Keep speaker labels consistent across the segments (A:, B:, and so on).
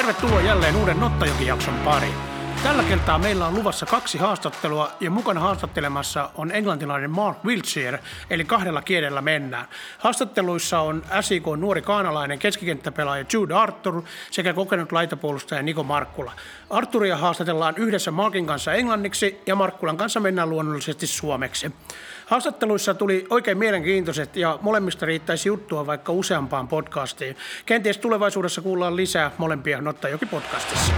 A: Tervetuloa jälleen uuden Nottajoki-jakson pariin. Tällä kertaa meillä on luvassa 2 haastattelua ja mukana haastattelemassa on englantilainen Mark Wiltshire, eli 2 kielellä mennään. Haastatteluissa on SIK nuori kaanalainen keskikenttäpelaaja Jude Arthur sekä kokenut laitapuolustaja Niko Markkula. Arthuria haastatellaan yhdessä Markin kanssa englanniksi ja Markkulan kanssa mennään luonnollisesti suomeksi. Haastatteluissa tuli oikein mielenkiintoiset ja molemmista riittäisi juttua vaikka useampaan podcastiin. Kenties tulevaisuudessa kuullaan lisää molempia Nottajoki-podcastissa.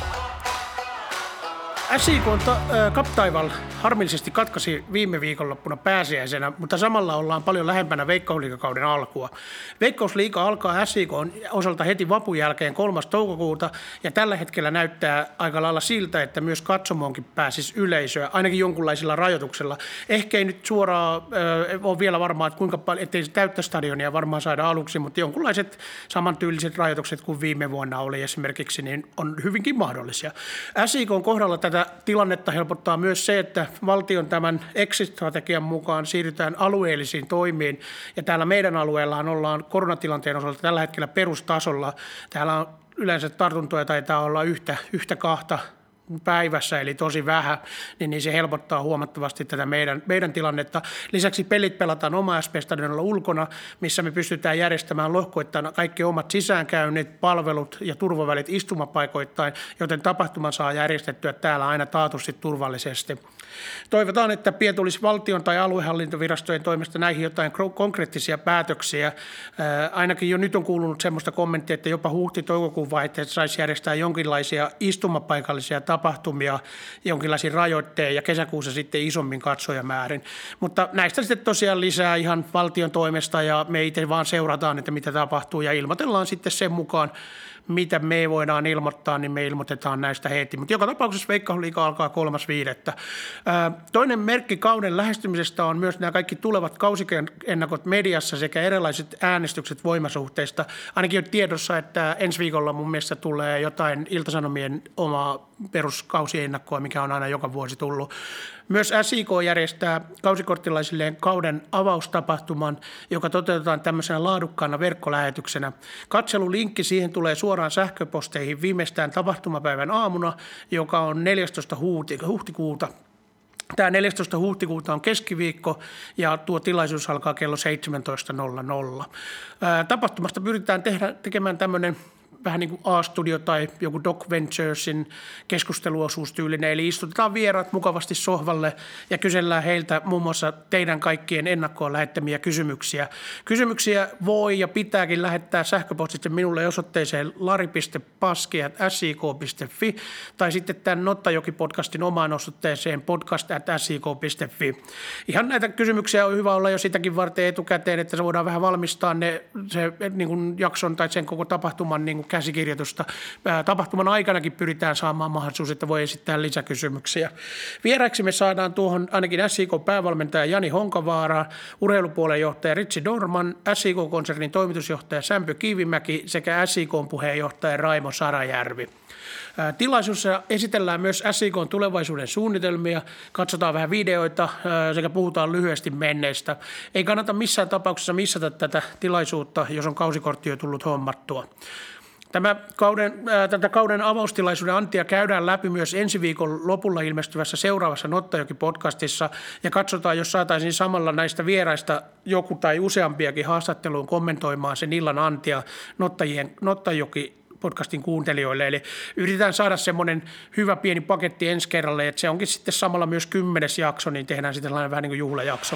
A: SIK Cup-taival harmillisesti katkaisi viime viikonloppuna pääsiäisenä, mutta samalla ollaan paljon lähempänä Veikkausliigakauden alkua. Veikkausliiga alkaa SIK osalta heti vapun jälkeen 3. toukokuuta ja tällä hetkellä näyttää aika lailla siltä, että myös katsomoonkin pääsisi yleisöä, ainakin jonkunlaisilla rajoituksilla. Ehkä ei nyt suoraan ole vielä varmaa, että kuinka paljon, ettei se täyttä stadionia varmaan saada aluksi, mutta jonkunlaiset samantyyliset rajoitukset kuin viime vuonna oli esimerkiksi, niin on hyvinkin mahdollisia. SIK:n kohdalla tätä tilannetta helpottaa myös se, että valtion tämän exit-strategian mukaan siirrytään alueellisiin toimiin. Ja täällä meidän alueellaan ollaan koronatilanteen osalta tällä hetkellä perustasolla. Täällä on yleensä tartuntoja taitaa olla yhtä 2 päivässä, eli tosi vähän, niin se helpottaa huomattavasti tätä meidän tilannetta. Lisäksi pelit pelataan oma SP-stadionilla ulkona, missä me pystytään järjestämään lohkoittain kaikki omat sisäänkäynnit, palvelut ja turvavälit istumapaikoittain, joten tapahtuma saa järjestettyä täällä aina taatusti turvallisesti. Toivotaan, että pian tulisi valtion tai aluehallintovirastojen toimesta näihin jotain konkreettisia päätöksiä. Ainakin jo nyt on kuulunut semmoista kommenttia, että jopa huhti-toukokuun vaihteessa saisi järjestää jonkinlaisia istumapaikallisia tapahtumia, jonkinlaisia rajoitteja ja kesäkuussa sitten isommin katsojamäärin. Mutta näistä sitten tosiaan lisää ihan valtion toimesta ja me itse vaan seurataan, että mitä tapahtuu ja ilmoitellaan sitten sen mukaan, mitä me voidaan ilmoittaa, niin me ilmoitetaan näistä heti. Mutta joka tapauksessa Veikkausliiga alkaa 3.5. Toinen merkki kauden lähestymisestä on myös nämä kaikki tulevat kausiennakot mediassa sekä erilaiset äänestykset voimasuhteista. Ainakin on tiedossa, että ensi viikolla mun mielestä tulee jotain Ilta-Sanomien omaa peruskausiennakkoa, mikä on aina joka vuosi tullut. Myös SIK järjestää kausikorttilaisilleen kauden avaustapahtuman, joka toteutetaan tämmöisenä laadukkaana verkkolähetyksenä. Katselulinkki siihen tulee suoraan sähköposteihin viimeistään tapahtumapäivän aamuna, joka on 14. huhtikuuta. Tämä 14. huhtikuuta on keskiviikko ja tuo tilaisuus alkaa kello 17.00. Tapahtumasta pyritään tekemään tämmöinen vähän niin kuin A-studio tai joku Doc Venturesin keskusteluosuustyylinen, eli istutetaan vieraat mukavasti sohvalle ja kysellään heiltä muun muassa teidän kaikkien ennakkoon lähettämiä kysymyksiä. Kysymyksiä voi ja pitääkin lähettää sähköpostitse minulle osoitteeseen lari.paski@sik.fi tai sitten tämän Nottajoki-podcastin omaan osoitteeseen podcast@sik.fi. Ihan näitä kysymyksiä on hyvä olla jo sitäkin varten etukäteen, että se voidaan vähän valmistaa se niin kuin jakson tai sen koko tapahtuman niin kuin käsikirjoitusta. Tapahtuman aikanakin pyritään saamaan mahdollisuus, että voi esittää lisäkysymyksiä. Vieraiksi me saadaan tuohon ainakin SIK-päävalmentaja Jani Honkavaara, urheilupuolen johtaja Ritsi Dorman, SIK-konsernin toimitusjohtaja Sämpy Kivimäki sekä SIK-puheenjohtaja Raimo Sarajärvi. Tilaisuudessa esitellään myös SIK:n tulevaisuuden suunnitelmia, katsotaan vähän videoita sekä puhutaan lyhyesti menneistä. Ei kannata missään tapauksessa missata tätä tilaisuutta, jos on kausikortti jo tullut hommattua. Tätä kauden avaustilaisuuden antia käydään läpi myös ensi viikon lopulla ilmestyvässä seuraavassa Nottajoki-podcastissa ja katsotaan, jos saataisiin samalla näistä vieraista joku tai useampiakin haastatteluun kommentoimaan sen illan antia Nottajoki-podcastin kuuntelijoille. Eli yritetään saada semmoinen hyvä pieni paketti ensi kerralle, että se onkin sitten samalla myös 10. jakso, niin tehdään sitten vähän niin kuin juhlajakso.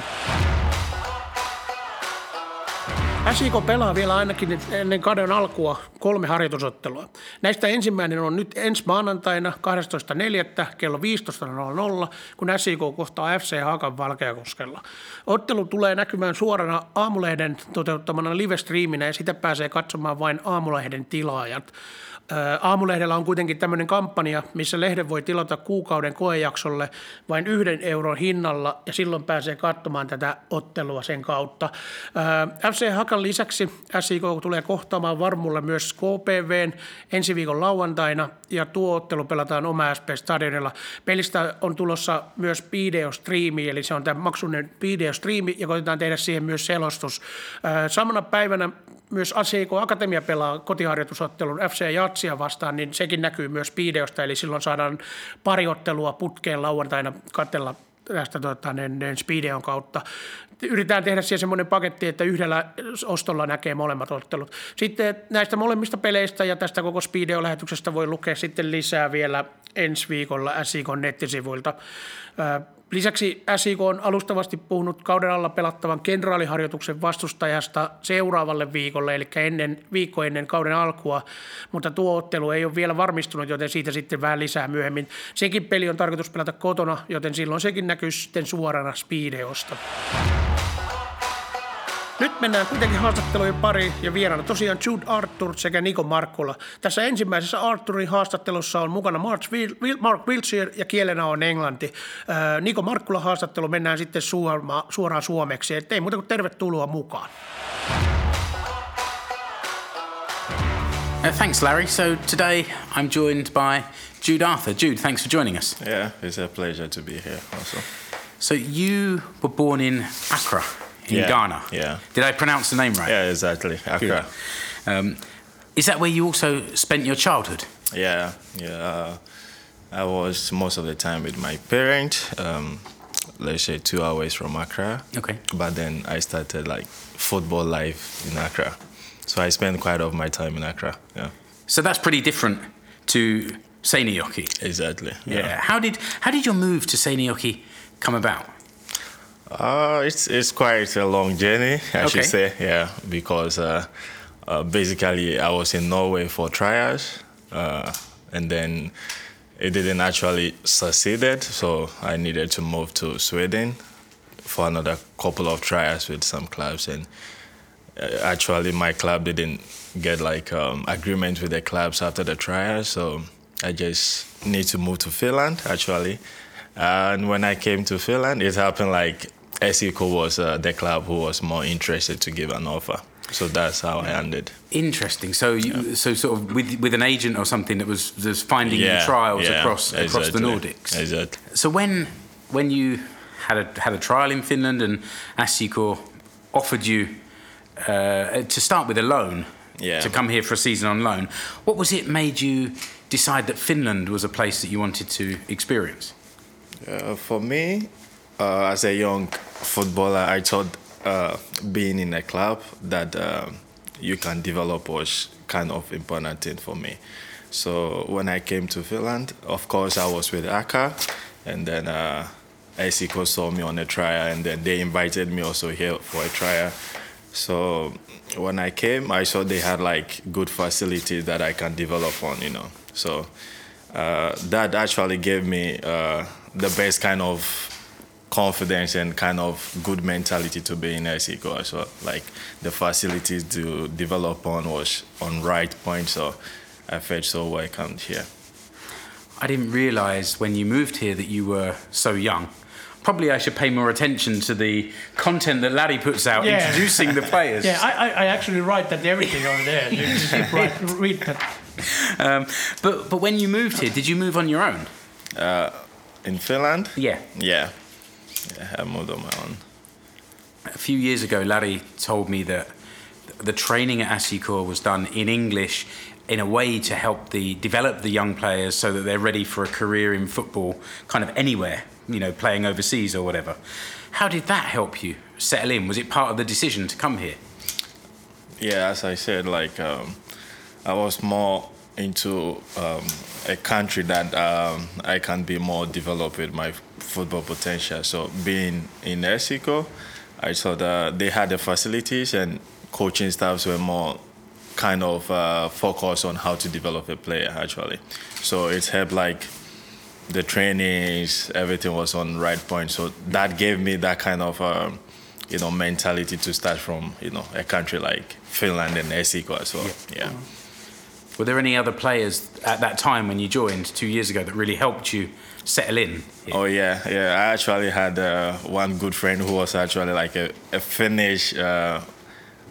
A: SIK pelaa vielä ainakin ennen kauden alkua 3 harjoitusottelua. Näistä ensimmäinen on nyt ensi maanantaina 12.4. kello 15.00, kun SIK kohtaa FC Haakan Valkeakoskella. Ottelu tulee näkymään suorana Aamulehden toteuttamana live-striiminä ja sitä pääsee katsomaan vain Aamulehden tilaajat. Aamulehdellä on kuitenkin tämmöinen kampanja, missä lehden voi tilata kuukauden koejaksolle vain 1 euron hinnalla ja silloin pääsee katsomaan tätä ottelua sen kautta. FC Haka matkan lisäksi SIK tulee kohtaamaan Varmulla myös KPV:n ensi viikon lauantaina ja tuo ottelu pelataan Oma SP-stadionilla. Pelistä on tulossa myös videostriimi, eli se on tämä maksullinen videostriimi ja koitetaan tehdä siihen myös selostus. Samana päivänä myös SIK Akatemia pelaa kotiharjoitusottelun FC Jatsia vastaan, niin sekin näkyy myös videosta, eli silloin saadaan pari ottelua putkeen lauantaina katsella tästä Speedeon kautta. Yritetään tehdä siihen semmoinen paketti, että yhdellä ostolla näkee molemmat ottelut. Sitten näistä molemmista peleistä ja tästä koko Speedeon-lähetyksestä voi lukea sitten lisää vielä ensi viikolla SIK:n nettisivuilta. Lisäksi SIK on alustavasti puhunut kauden alla pelattavan kenraaliharjoituksen vastustajasta seuraavalle viikolle, eli viikko ennen kauden alkua, mutta tuo ottelu ei ole vielä varmistunut, joten siitä sitten vähän lisää myöhemmin. Sekin peli on tarkoitus pelata kotona, joten silloin sekin näkyy sitten suorana Speedeosta. Nyt mennään kuitenkin haastattelujen pariin ja vieraana tosiaan Jude Arthur sekä Niko Markkula. Tässä ensimmäisessä Arthurin haastattelussa on mukana Mark Wiltshire ja kielenä on englanti. Niko Markkula haastattelu mennään sitten suoraan suomeksi, ettei muuta kuin tervetuloa mukaan.
B: Thanks, Larry. So today I'm joined by Jude Arthur. Jude, thanks for joining us.
C: Yeah, it's a pleasure to be here also.
B: So you were born in Accra, in Ghana.
C: Yeah.
B: Did I pronounce the name right?
C: Yeah, exactly. Accra.
B: Is that where you also spent your childhood?
C: Yeah. I was most of the time with my parents. Let's say 2 hours from Accra.
B: Okay.
C: But then I started like football life in Accra. So I spent quite of my time in Accra. Yeah.
B: So that's pretty different to Seinäjoki.
C: Exactly.
B: Yeah. How did your move to Seinäjoki come about?
C: It's quite a long journey, I should say, yeah, because basically I was in Norway for trials, and then it didn't actually succeed, so I needed to move to Sweden for another couple of trials with some clubs, and actually my club didn't get agreement with the clubs after the trials, so I just need to move to Finland, actually. And when I came to Finland, it happened like SIK was the club who was more interested to give an offer. So that's how I ended.
B: Interesting. So so sort of with an agent or something that was finding you trials across the Nordics.
C: Exactly.
B: So when you had a trial in Finland and SIK offered you to start with a loan, to come here for a season on loan, what was it made you decide that Finland was a place that you wanted to experience?
C: For me, as a young footballer, I thought being in a club that you can develop was kind of important thing for me. So when I came to Finland, of course I was with Akka, and then SIK saw me on a trial, and then they invited me also here for a trial. So when I came, I saw they had good facilities that I can develop on, So that actually gave me the best kind of confidence and kind of good mentality to be in SIK. So the facilities to develop on was on right point, so I felt so welcomed here.
B: I didn't realise when you moved here that you were so young. Probably I should pay more attention to the content that Larry puts out introducing the players.
A: Yeah, I actually write that everything over there. You just read that.
B: But when you moved here, did you move on your own?
C: In Finland?
B: Yeah.
C: Yeah, I moved on my own.
B: A few years ago, Larry told me that the training at SIK was done in English in a way to help develop the young players so that they're ready for a career in football kind of anywhere, playing overseas or whatever. How did that help you settle in? Was it part of the decision to come here?
C: Yeah, as I said, I was more into a country that I can be more developed with my football potential. So being in SIK, I saw that they had the facilities and coaching staffs were more kind of focused on how to develop a player actually. So it helped the trainings, everything was on right point. So that gave me that kind of mentality to start from a country like Finland and SIK as well. Yeah.
B: Were there any other players at that time when you joined 2 years ago that really helped you settle in?
C: Oh yeah. I actually had one good friend who was actually a Finnish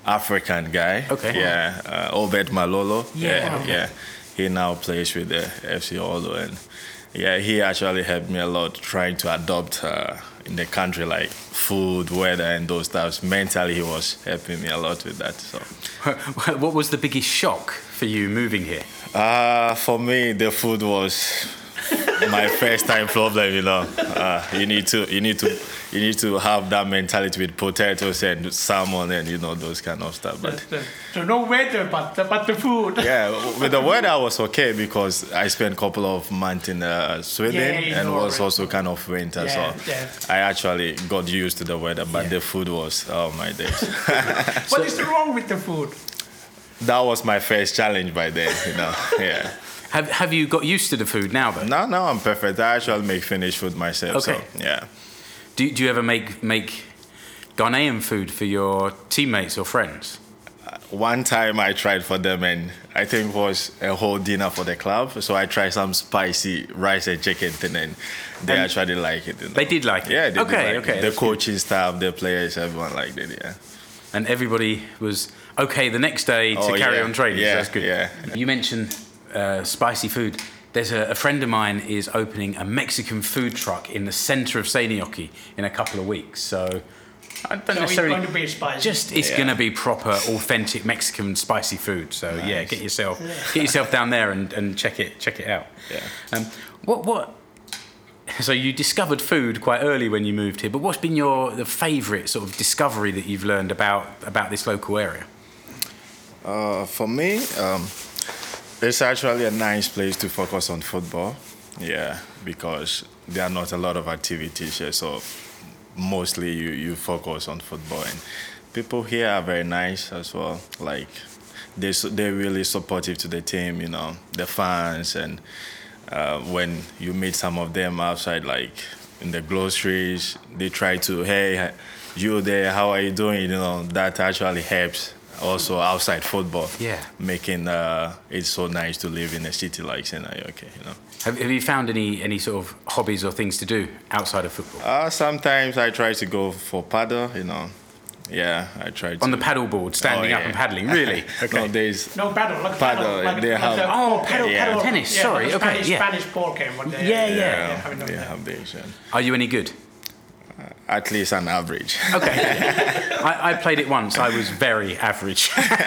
C: African guy.
B: Okay.
C: Yeah, Obed Malolo.
B: Yeah.
C: Yeah. He now plays with the FC Olo, and yeah, he actually helped me a lot trying to adopt in the country, like food, weather, and those stuff. Mentally, he was helping me a lot with that. So,
B: What was the biggest shock for you moving here?
C: for me, the food was my first time problem. You need to have that mentality with potatoes and salmon and those kind of stuff. But
A: So no weather, but the food.
C: yeah, with the weather I was okay because I spent a couple of months in Sweden and it was also kind of winter, so I actually got used to the weather. But the food was, oh my days.
A: What is wrong with the food?
C: That was my first challenge by then. Yeah.
B: Have you got used to the food now, though?
C: Now I'm perfect. I actually make Finnish food myself.
B: Okay.
C: So yeah.
B: Do you ever make Ghanaian food for your teammates or friends?
C: One time I tried for them, and I think it was a whole dinner for the club. So I tried some spicy rice and chicken thing, and they actually liked it.
B: They did like it?
C: Yeah, they
B: Okay,
C: did like
B: okay,
C: it. The
B: that's
C: coaching staff, the players, everyone liked it, yeah.
B: And everybody was okay the next day to carry on training.
C: Yeah,
B: so that's good.
C: yeah.
B: You mentioned spicy food. There's a friend of mine is opening a Mexican food truck in the centre of Seinäjoki in a couple of weeks. So I don't necessarily.
A: It's going to be spicy.
B: It's going to be proper, authentic Mexican spicy food. So yeah, get yourself down there and check it out.
C: Yeah.
B: What? So you discovered food quite early when you moved here, but what's been the favourite sort of discovery that you've learned about this local area?
C: For me, it's actually a nice place to focus on football. Yeah, because there are not a lot of activities here, so mostly you focus on football. And people here are very nice as well. Like they're really supportive to the team. The fans, and when you meet some of them outside, like in the groceries, they try to, hey, you there? How are you doing? That actually helps. Also outside football, making it so nice to live in a city like Seinäjoki.
B: Have you found any sort of hobbies or things to do outside of football?
C: Sometimes I try to go for paddle. Yeah, I try to.
B: On the paddle board, standing up and paddling. Really? Okay.
C: No, there's
A: No paddle, like
C: paddle.
A: Like
C: they have.
B: paddle tennis. Sorry.
A: Like
B: Okay.
A: Spanish ball game. What they
C: They have these.
B: Are you any good?
C: At least an average.
B: Okay. I played it once. I was very average.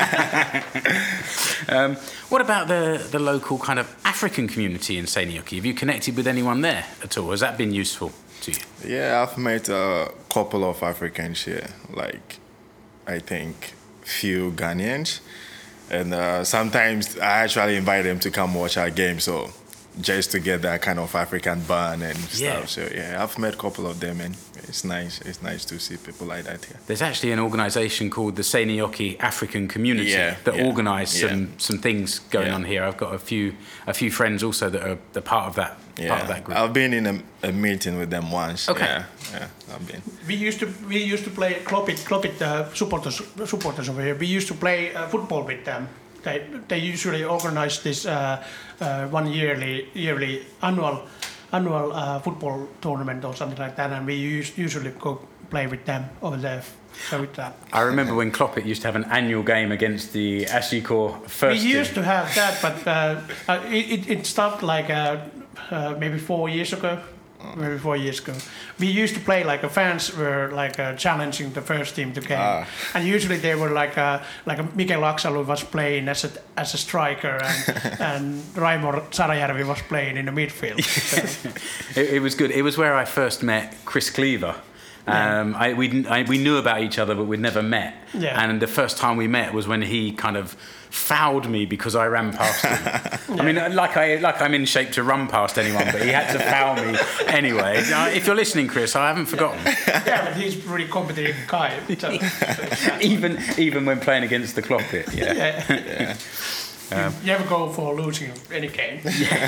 B: What about the local kind of African community in Seinäjoki? Have you connected with anyone there at all? Has that been useful to you?
C: Yeah, I've met a couple of Africans here. Like, I think few Ghanaians. And sometimes I actually invite them to come watch our game. So just to get that kind of African bond and stuff. So yeah, I've met a couple of them, and it's nice. It's nice to see people like that here.
B: There's actually an organisation called the Seinäjoki African Community that organise some things going on here. I've got a few friends also that are part of that group.
C: I've been in a meeting with them once.
B: Okay.
C: Yeah, I've been.
A: We used to play Klopit supporters over here. We used to play football with them. They usually organize this one yearly annual football tournament or something like that, and we usually go play with them over there. So with that.
B: I remember when Kloppet used to have an annual game against the Ashikor first
A: We
B: team.
A: used to have that, but it stopped like maybe 4 years ago. Maybe 4 years ago, we used to play like fans were like challenging the first team to game, and usually they were like Mikel Aksalu was playing as a striker, and Raimor Sarajärvi was playing in the midfield. So.
B: It was good. It was where I first met Chris Cleaver. We knew about each other, but we'd never met.
A: Yeah.
B: And the first time we met was when he kind of fouled me because I ran past him. I mean, like I'm in shape to run past anyone, but he had to foul me anyway. If you're listening, Chris, I haven't forgotten.
A: Yeah, but he's a pretty competitive guy. So
B: even when playing against the Kloppet. Yeah.
A: You never go for losing any game.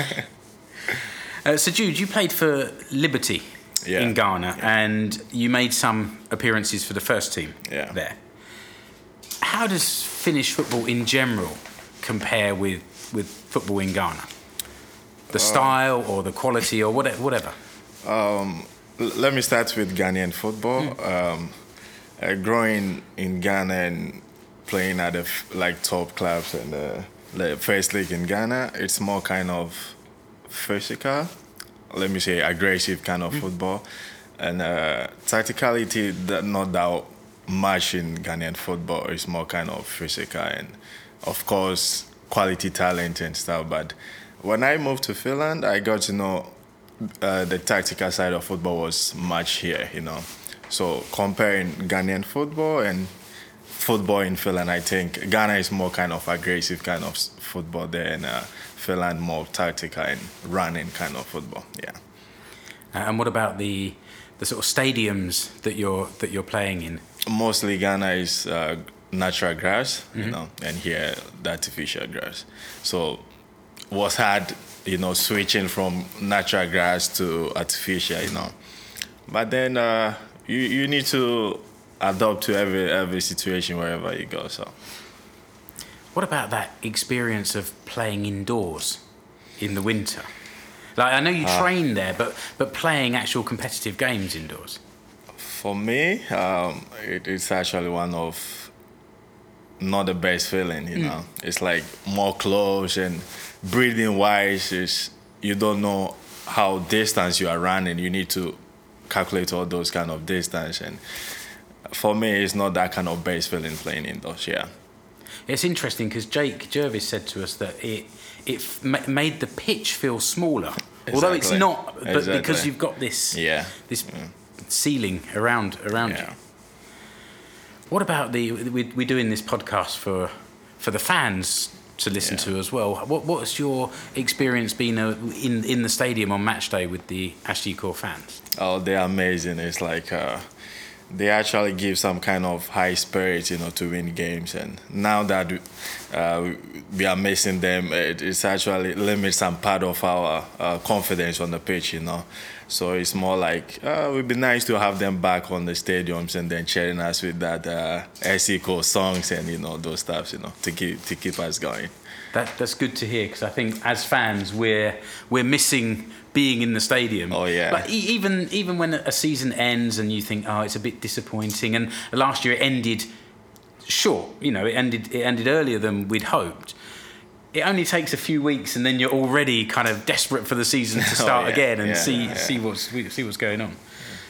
B: So Jude, you played for Liberty. In Ghana, and you made some appearances for the first team there. How does Finnish football in general compare with football in Ghana? The style or the quality or whatever?
C: Let me start with Ghanaian football. Growing in Ghana and playing at the top clubs and the first league in Ghana, it's more kind of physical, let me say aggressive kind of football, and tacticality not that much in Ghanaian football. It's more kind of physical and of course quality talent and stuff. But when I moved to Finland, I got to know the tactical side of football was much here, So comparing Ghanaian football and football in Finland, I think Ghana is more kind of aggressive kind of football there, and Finland more tactical and running kind of football. Yeah.
B: And what about the sort of stadiums that you're playing in? Mostly
C: Ghana is natural grass, and here the artificial grass. So was hard, switching from natural grass to artificial, But then you need to adapt to every situation wherever you go. So,
B: what about that experience of playing indoors in the winter? Like, I know you train there, but playing actual competitive games indoors.
C: For me, it's actually one of not the best feeling. It's like more close, and breathing wise is you don't know how distance you are running. You need to calculate all those kind of distance, and for me, it's not that kind of base feeling playing indoors. Yeah,
B: it's interesting because Jake Jervis said to us that it made the pitch feel smaller, although it's not, but because you've got this ceiling around you. What about we're doing this podcast for the fans to listen to as well. What's your experience been in the stadium on match day with the Ashiko fans?
C: Oh, they're amazing. It's like they actually give some kind of high spirit, to win games. And now that we are missing them, it's actually limits some part of our confidence on the pitch, So it's more like it would be nice to have them back on the stadiums and then cheering us with that Ashiko songs and those stuff, to keep us going.
B: That's good to hear, because I think as fans we're missing being in the stadium.
C: Oh yeah.
B: Like even when a season ends and you think, it's a bit disappointing, and last year it ended short. It ended earlier than we'd hoped. It only takes a few weeks, and then you're already kind of desperate for the season to start again and see what's going on.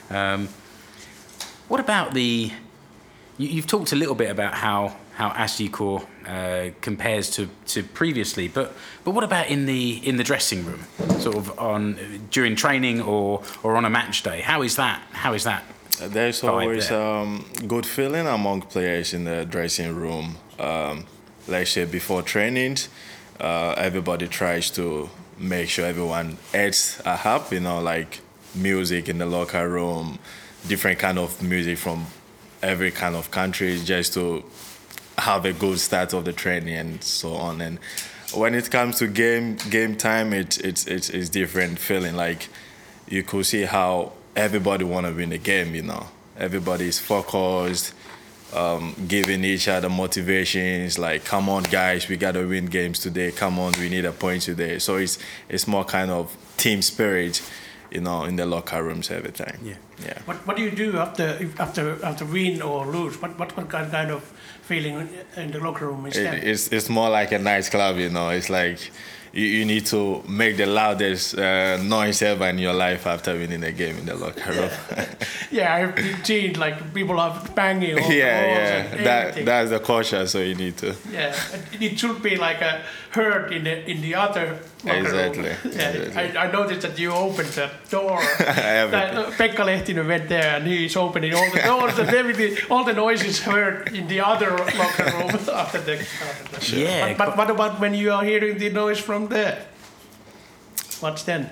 B: What about you've talked a little bit about how Ashiko compares to previously, but what about in the dressing room, sort of during training or on a match day? How is that?
C: There's always good feeling among players in the dressing room. Let's say before trainings, everybody tries to make sure everyone adds a help, like music in the locker room, different kind of music from every kind of country, just to have a good start of the training and so on. And when it comes to game time, it's different feeling. Like you could see how everybody want to win the game. Everybody is focused, giving each other motivations. Like, come on, guys, we gotta win games today. Come on, we need a point today. So it's more kind of team spirit, in the locker rooms every time. Yeah.
A: What do you do after win or lose? What kind of feeling in the locker room is that?
C: It's more like a nice club, It's like you need to make the loudest noise ever in your life after winning a game in the locker room.
A: I've seen like people are banging on the walls and everything.
C: That's the culture, so you need to.
A: Yeah, it should be like a herd in the other locker room.
C: Exactly.
A: I noticed that you opened the door. Pekka Lehtinen went there and he's opening all the doors and everything. All the noises heard in the other locker room after the.
B: Yeah.
A: But what about when you are hearing the noise from there? What's then?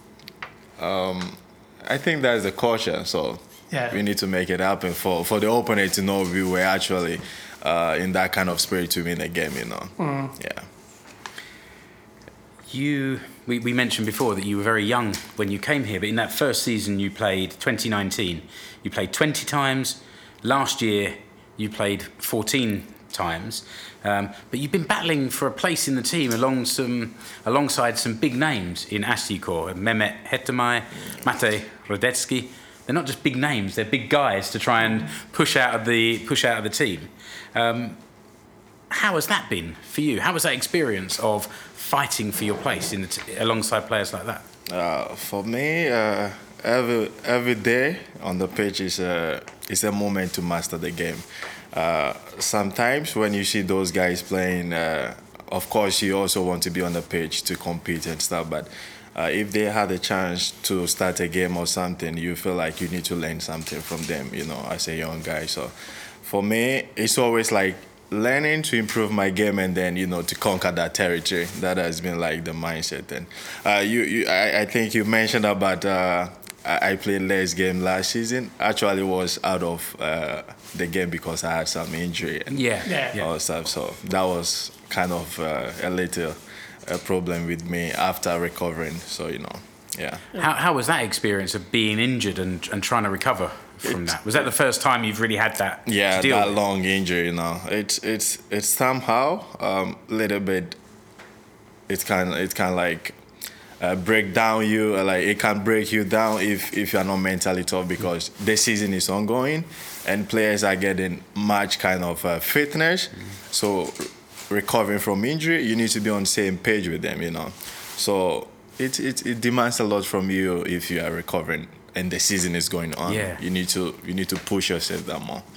C: I think that's the culture, so we need to make it happen for the opponent to know we were actually in that kind of spirit to win a game, Yeah.
B: We mentioned before that you were very young when you came here, but in that first season you played 2019, you played 20 times. Last year you played 14 times, but you've been battling for a place in the team alongside some big names in Ashiko, Mehmet Hetemay, Mate Rodetsky. They're not just big names; they're big guys to try and push out of the team. how has that been for you? How was that experience of fighting for your place alongside players like that?
C: For me, every day on the pitch is a moment to master the game. Sometimes when you see those guys playing, of course you also want to be on the pitch to compete and stuff. But if they had a chance to start a game or something, you feel like you need to learn something from them, as a young guy. So for me, it's always like learning to improve my game and then, to conquer that territory. That has been like the mindset. And I think you mentioned about I played less game last season. Actually, was out of the game because I had some injury and all stuff. So that was kind of a little problem with me after recovering. So, yeah.
B: How was that experience of being injured and trying to recover from that? Was that the first time you've really had that?
C: Yeah,
B: to deal
C: that
B: with?
C: long injury. It's somehow little bit. It's kind of like break down you. Like it can break you down if you're not mentally tough because the season is ongoing and players are getting much kind of fitness. So recovering from injury, you need to be on the same page with them. So. It demands a lot from you if you are recovering and the season is going on.
B: Yeah.
C: You need to push yourself that more.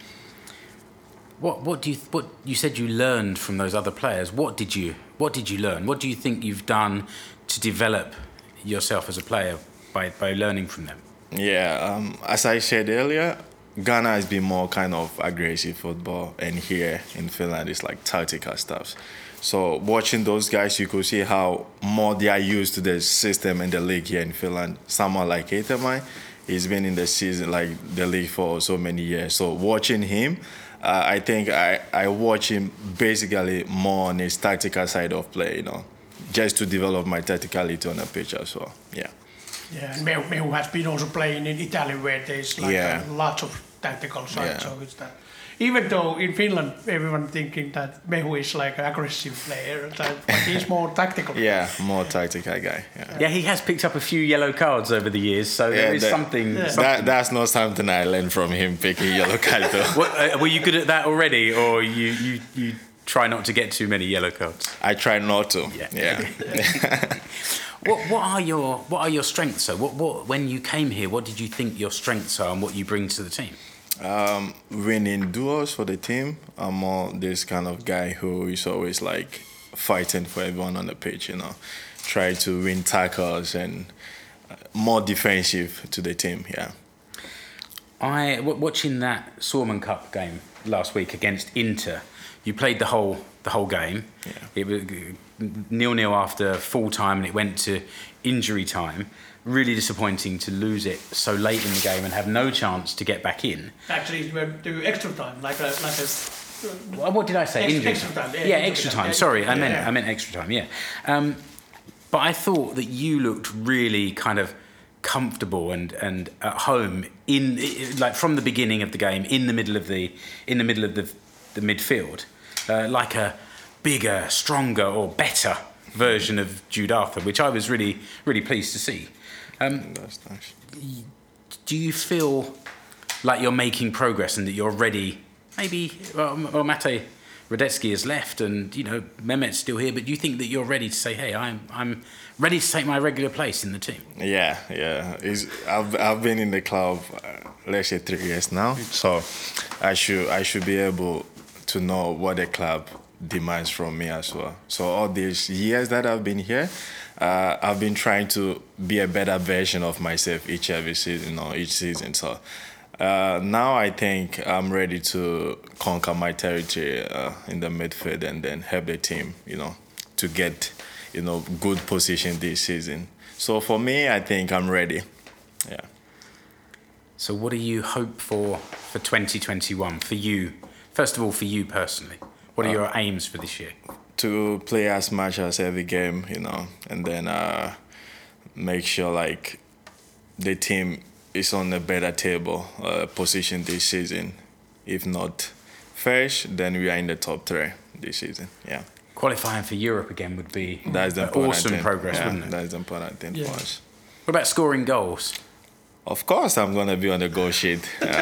B: What you said you learned from those other players? What did you learn? What do you think you've done to develop yourself as a player by learning from them?
C: Yeah, as I said earlier, Ghana has been more kind of aggressive football, and here in Finland it's like tactical stuff. So watching those guys, you could see how more they are used to the system and the league here in Finland. Someone like Etemai, he's been in the season, like the league for so many years. So watching him, I think I watch him basically more on his tactical side of play, just to develop my tacticality on the pitch as well. Yeah.
A: Yeah, and Mehu has been also playing in Italy where there's lots of tactical side.
C: Yeah.
A: So it's that. Even though in Finland everyone thinking that Mehu is like an aggressive player, but he's more tactical.
C: Yeah, more tactical guy.
B: Yeah, he has picked up a few yellow cards over the years, so there is something.
C: That's not something I learned from him picking yellow cards.
B: Were you good at that already, or you try not to get too many yellow cards?
C: I try not to. Yeah.
B: What are your strengths? So, when you came here, what did you think your strengths are, and what you bring to the team?
C: Winning duels for the team. I'm more this kind of guy who is always like fighting for everyone on the pitch. Try to win tackles and more defensive to the team. Yeah.
B: Watching that Suomen Cup game last week against Inter, you played the whole game. Yeah. It was 0-0 after full time, and it went to injury time. Really disappointing to lose it so late in the game and have no chance to get back in.
A: Actually, it went to extra time, like a.
B: What did I say?
A: Extra time.
B: Yeah, extra time. Sorry, I meant extra time. Yeah, but I thought that you looked really kind of comfortable and at home like from the beginning of the game, in the middle of the midfield, like a bigger, stronger, or better version of Jude Arthur, which I was really, really pleased to see.
C: That's nice.
B: Do you feel like you're making progress and that you're ready? Maybe, well, Mate Radetzky has left, and Mehmet's still here. But do you think that you're ready to say, "Hey, I'm ready to take my regular place in the team"?
C: Yeah. I've been in the club, let's say 3 years now, so I should be able to know what the club demands from me as well. So all these years that I've been here, I've been trying to be a better version of myself each season. So now I think I'm ready to conquer my territory in the midfield and then help the team, to get, good position this season. So for me, I think I'm ready. Yeah.
B: So what do you hope for 2021 for you? First of all, for you personally. What are your aims for this year?
C: To play as much as every game, and then make sure like the team is on a better table position this season. If not first, then we are in the top 3 this season. Yeah.
B: Qualifying for Europe again would be
C: awesome
B: progress, wouldn't it?
C: That's the important thing for us.
B: What about scoring goals?
C: Of course, I'm gonna be on the goal sheet.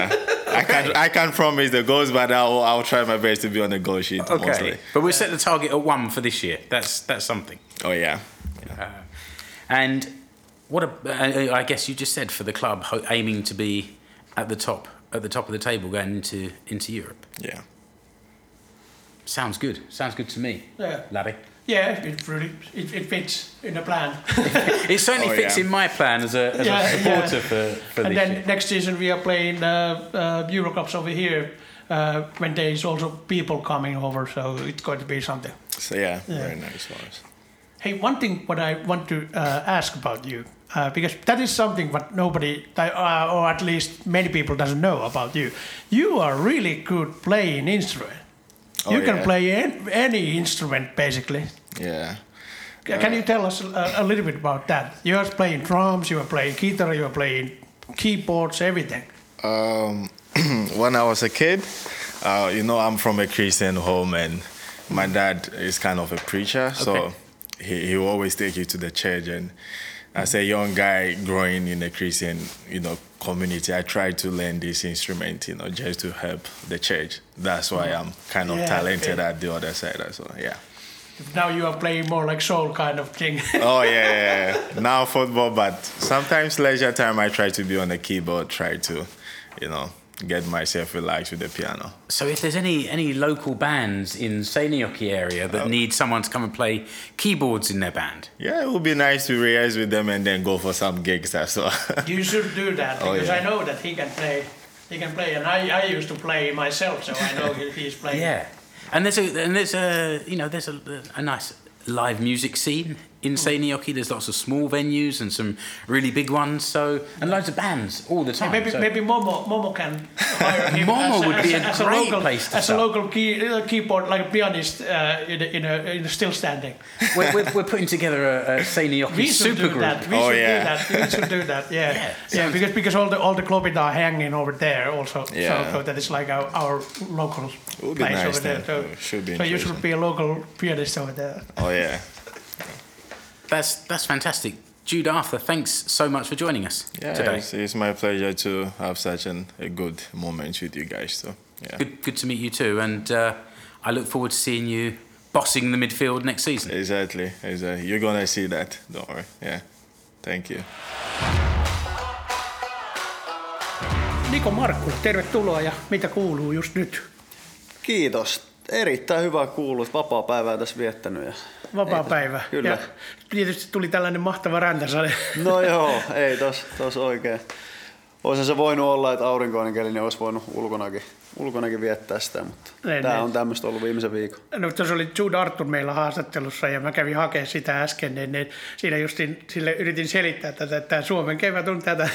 C: I can't promise the goals, but I'll try my best to be on the goal sheet.
B: Okay,
C: Mostly.
B: but we'll set the target at 1 for this year. That's something.
C: Oh yeah.
B: And I guess you just said for the club, aiming to be at the top of the table going into Europe.
C: Yeah.
B: Sounds good. Sounds good to me, Larry.
A: Yeah, it fits in the plan.
B: It certainly fits in my plan as a supporter for
A: and
B: this
A: then
B: year.
A: next season we are playing Eurocups over here when there is also people coming over, so it's going to be something.
C: So yeah. Very nice for us.
A: Hey, one thing what I want to ask about you, because that is something what nobody, or at least many people doesn't know about you. You are really good playing instrument. You can play any instrument basically.
C: Yeah.
A: Can you tell us a little bit about that? You are playing drums, you are playing guitar, you are playing keyboards, everything.
C: When I was a kid, I'm from a Christian home, and my dad is kind of a preacher, so he will always take you to the church. And as a young guy growing in a Christian, community, I tried to learn this instrument, just to help the church. That's why I'm kind of talented at the other side as well. Yeah.
A: Now you are playing more like soul kind of thing.
C: Oh yeah. Now football, but sometimes leisure time I try to be on the keyboard, try to, get myself relaxed with the piano.
B: So if there's any local bands in Seinäjoki area that need someone to come and play keyboards in their band?
C: Yeah, it would be nice to rehearse with them and then go for some gigs as well.
A: You should do that, because I know that he can play. He can play, and I used to play myself, so I know he's playing.
B: Yeah, and there's a nice live music scene in Seinäjoki. There's lots of small venues and some really big ones. And loads of bands all the time.
A: Maybe Momo can hire him.
B: Momo would be a great place to
A: as
B: start.
A: a local keyboard, like a pianist in a still standing.
B: We're putting together a Seinäjoki super group.
A: We should do that. Yeah. Because all the clubs are hanging over there also.
C: Yeah.
A: So that is like our local place
C: nice
A: over there. So you should be a local pianist over there.
C: Oh yeah.
B: That's fantastic. Jude Arthur, thanks so much for joining us today.
C: It's my pleasure to have such a good moment with you guys. So, yeah.
B: Good to meet you too, and I look forward to seeing you bossing the midfield next season.
C: Exactly. You're gonna see that. Don't worry. Yeah. Thank you.
A: Niko Markkula, tervetuloa, ja mitä kuuluu just nyt?
D: Kiitos. Erittäin hyvä kuuluu. Vapaa-päivää tässä viettänyt.
A: Vapaa-päivä.
D: Kyllä.
A: Ja tietysti tuli tällainen mahtava räntäsade.
D: No joo, ei tos oikein. Olisi se voinut olla, että aurinkoinen keli, niin olisi voinut ulkonakin viettää sitä, mutta tämä on tämmöistä ollut viimeisen viikon.
A: No tuossa oli Jude Arthur meillä haastattelussa ja mä kävin hakemaan sitä äsken, niin siinä just sille yritin selittää tätä, että Suomen kevät on tätä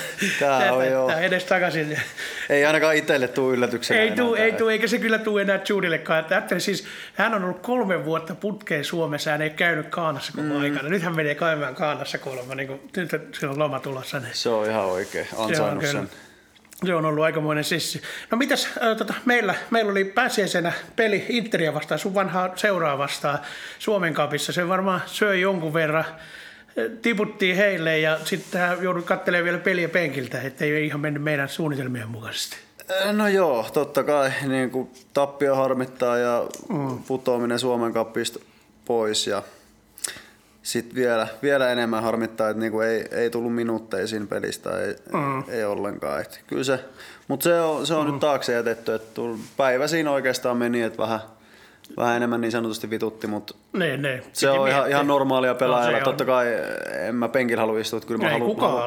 A: edes takaisin.
D: Ei ainakaan itselle tule yllätyksenä.
A: Ei tule, eikä se kyllä tule enää Judellekkaan. Siis hän on ollut 3 vuotta putkeen Suomessa, hän ei käynyt Ghanassa koko aikana. Nyt hän menee käymään Ghanassa kuulemma, niin nyt sillä on loma tulossa. Niin.
D: Se on ihan oikein, ansainnut sen.
A: Se on ollut aikamoinen sissi. No mitäs, meillä oli pääsiäisenä peli Interia vastaan, sun vanhaa seuraa vastaan Suomen Cupissa. Se varmaan söi jonkun verran, tiputtiin heille ja sitten joudut katselemaan vielä peliä penkiltä, ettei ihan mennyt meidän suunnitelmien mukaisesti.
D: No joo, totta kai niin kuin tappio harmittaa ja putoaminen Suomen Cupista pois ja sitten vielä enemmän harmittaa, että niinku ei tullut minuutteja siinä pelistä, ei ollenkaan. Et kyllä mutta se on nyt taakse jätetty, että päivä siinä oikeastaan meni, että vähän enemmän niin sanotusti vitutti, mutta se on ihan normaalia pelaajalla. Totta kai en mä penkillä halua istua, että kyllä mä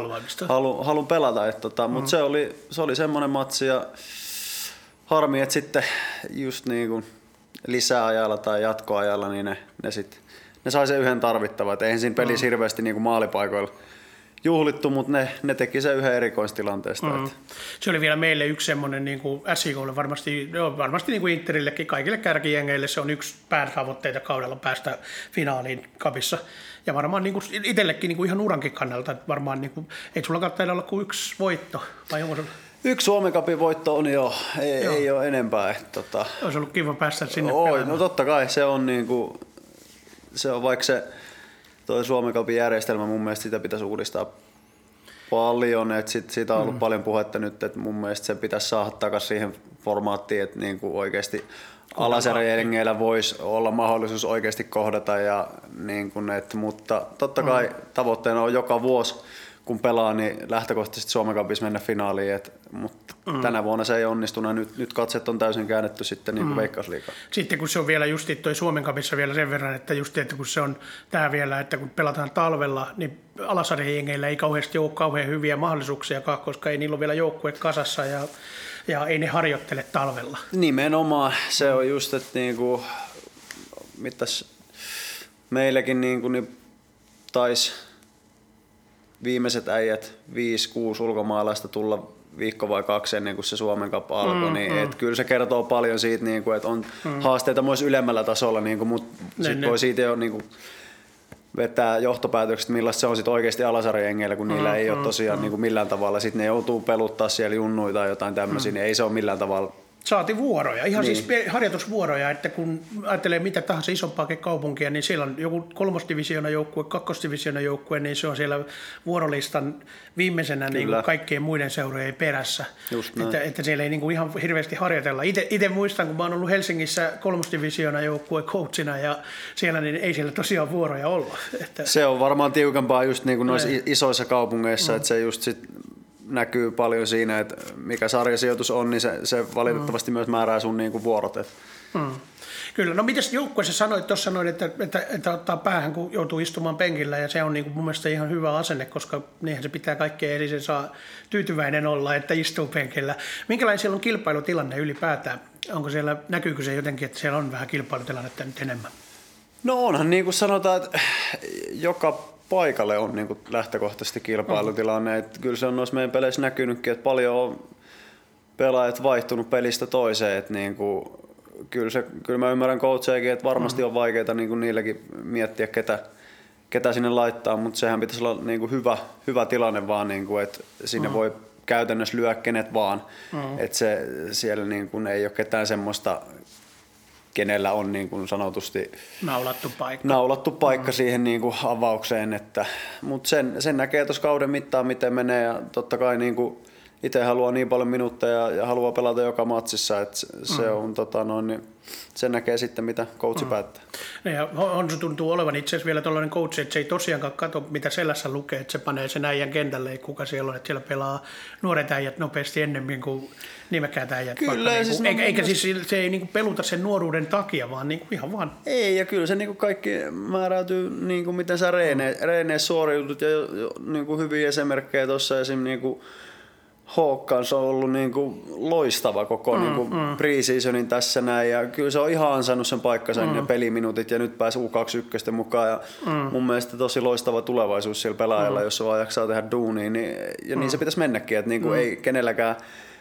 D: haluan pelata. Mutta se oli semmoinen matsi ja harmi, että sitten just niin kuin lisäajalla tai jatkoajalla niin ne sai sen yhden tarvittavan. Eihän siinä pelissä hirveästi niin kuin maalipaikoilla juhlittu, mutta ne teki sen yhden erikoistilanteesta.
A: Se oli vielä meille yksi semmoinen niin kuin SJK:lle varmasti niin kuin Interillekin, kaikille kärkijengeille se on yksi päätavoitteita kaudella päästä finaaliin Cupissa. Ja varmaan niin kuin itsellekin niin kuin ihan urankin kannalta, että varmaan niin kuin, ei sulla taida olla kuin 1 voitto, vai onko sulla? 1
D: Suomen Cupin voitto on ei ole enempää.
A: Olisi ollut kiva päästä sinne pelaamaan.
D: No totta kai se on niinku, se on vaikka se toi Suomen Cupin järjestelmä, mun mielestä sitä pitäisi uudistaa paljon, että siitä on ollut paljon puhetta nyt, että mun mielestä se pitäisi saada takaisin siihen formaattiin, että niinku oikeasti alasarjajengeillä voisi olla mahdollisuus oikeasti kohdata, ja niinku, mutta totta kai tavoitteena on joka vuosi, kun pelaa, niin lähtökohtaisesti Suomen Cupissa mennä finaaliin, mutta tänä vuonna se ei onnistunut. Nyt katset on täysin käännetty sitten niin kuin Veikkausliigaan.
A: Sitten kun se on vielä just toi Suomen Cupissa vielä sen verran, että just että kun se on tää vielä, että kun pelataan talvella, niin alasarjajengeillä ei kauheasti ole kauhean hyviä mahdollisuuksia, koska ei niillä ole vielä joukkue kasassa ja ei ne harjoittele talvella.
D: Nimenomaan. Se on just, että niinku, mitäs meilläkin niinku, niin taisi viimeiset äijät 5-6 ulkomaalaista tulla viikko vai 2 ennen kuin se Suomen Cup alkoi, niin et kyllä se kertoo paljon siitä, niin kuin, että on haasteita myös ylemmällä tasolla, niin kuin, mutta sitten voi siitä jo niin kuin, vetää johtopäätökset, millaista se on sit oikeasti alasarjajengeillä, kun niillä ei ole tosiaan niin kuin millään tavalla. Sitten ne joutuu peluttaa siellä junnuja tai jotain tämmöisiä, niin ei se ole millään tavalla.
A: Saati vuoroja, ihan niin. Siis harjoitusvuoroja, että kun ajattelee mitä tahansa isompaa kaupunkia, niin siellä on joku 3. divisioonan joukkue, 2. divisioonan joukkue, niin se on siellä vuorolistan viimeisenä niin kuin kaikkien muiden seurojen perässä. Että siellä ei niin kuin ihan hirveästi harjoitella. Itse muistan, kun mä oon ollut Helsingissä 3. divisioonan joukkue coachina, ja siellä niin ei siellä tosiaan vuoroja ollut. Että
D: se on varmaan tiukempaa just niin kuin noissa isoissa kaupungeissa, että se just sit näkyy paljon siinä, että mikä sarjasijoitus on, niin se valitettavasti myös määrää sun niinku vuorot.
A: Kyllä. No mites joukkueessa sanoit, tuossa sanoit, että ottaa päähän, kun joutuu istumaan penkillä, ja se on niinku mun mielestä ihan hyvä asenne, koska niinhän se pitää kaikkea eri, sen saa tyytyväinen olla, että istuu penkillä. Minkälainen siellä on kilpailutilanne ylipäätään? Onko siellä, näkyykö se jotenkin, että siellä on vähän kilpailutilannetta nyt enemmän?
D: No onhan niin kuin sanotaan, että joka paikalle on niin kuin lähtökohtaisesti kilpailutilanne. Että kyllä se on noissa meidän peleissä näkynytkin, että paljon on pelaajat vaihtunut pelistä toiseen. Että niin kuin, kyllä mä ymmärrän coachejakin, että varmasti on vaikeaa niin kuin niilläkin miettiä, ketä sinne laittaa, mutta sehän pitäisi olla niin kuin hyvä tilanne vaan, niin kuin, että sinne voi käytännössä lyö kenet vaan. Että siellä niin kuin ei ole ketään semmoista, kenellä on niin kuin sanotusti naulattu paikka siihen niin kuin avaukseen. Mutta sen näkee tuossa kauden mittaan, miten menee, ja totta kai niin kuin itse haluaa niin paljon minuutteja ja haluaa pelata joka matsissa, että se on, niin sen näkee sitten, mitä coachi päättää.
A: Ja Honsu tuntuu olevan itse asiassa vielä tällainen coachi, että se ei tosiaankaan katso, mitä selässä lukee, että se panee sen äijän kentälle, kuka siellä on, että siellä pelaa nuoret äijät nopeasti ennemmin kuin nimekkäät äijät.
D: Kyllä,
A: niin
D: siis
A: eikä siis se ei niin kuin peluta sen nuoruuden takia, vaan niin kuin ihan vaan. Ei,
D: ja kyllä se niin kuin kaikki määräytyy, niin kuin miten sä reeneissä suoriudut, ja niin kuin hyviä esimerkkejä tuossa esimerkiksi niin kuin Håkans on ollut niinku loistava koko niinku pre-seasonin tässä näin, ja kyllä se on ihan ansainnut sen paikkansa ja peliminuutit, ja nyt pääsi U21 mukaan, ja mun mielestä tosi loistava tulevaisuus sillä pelaajalla, jos se vaan jaksaa tehdä duunia, niin se pitäisi mennäkin, että niinku ei kenelläkään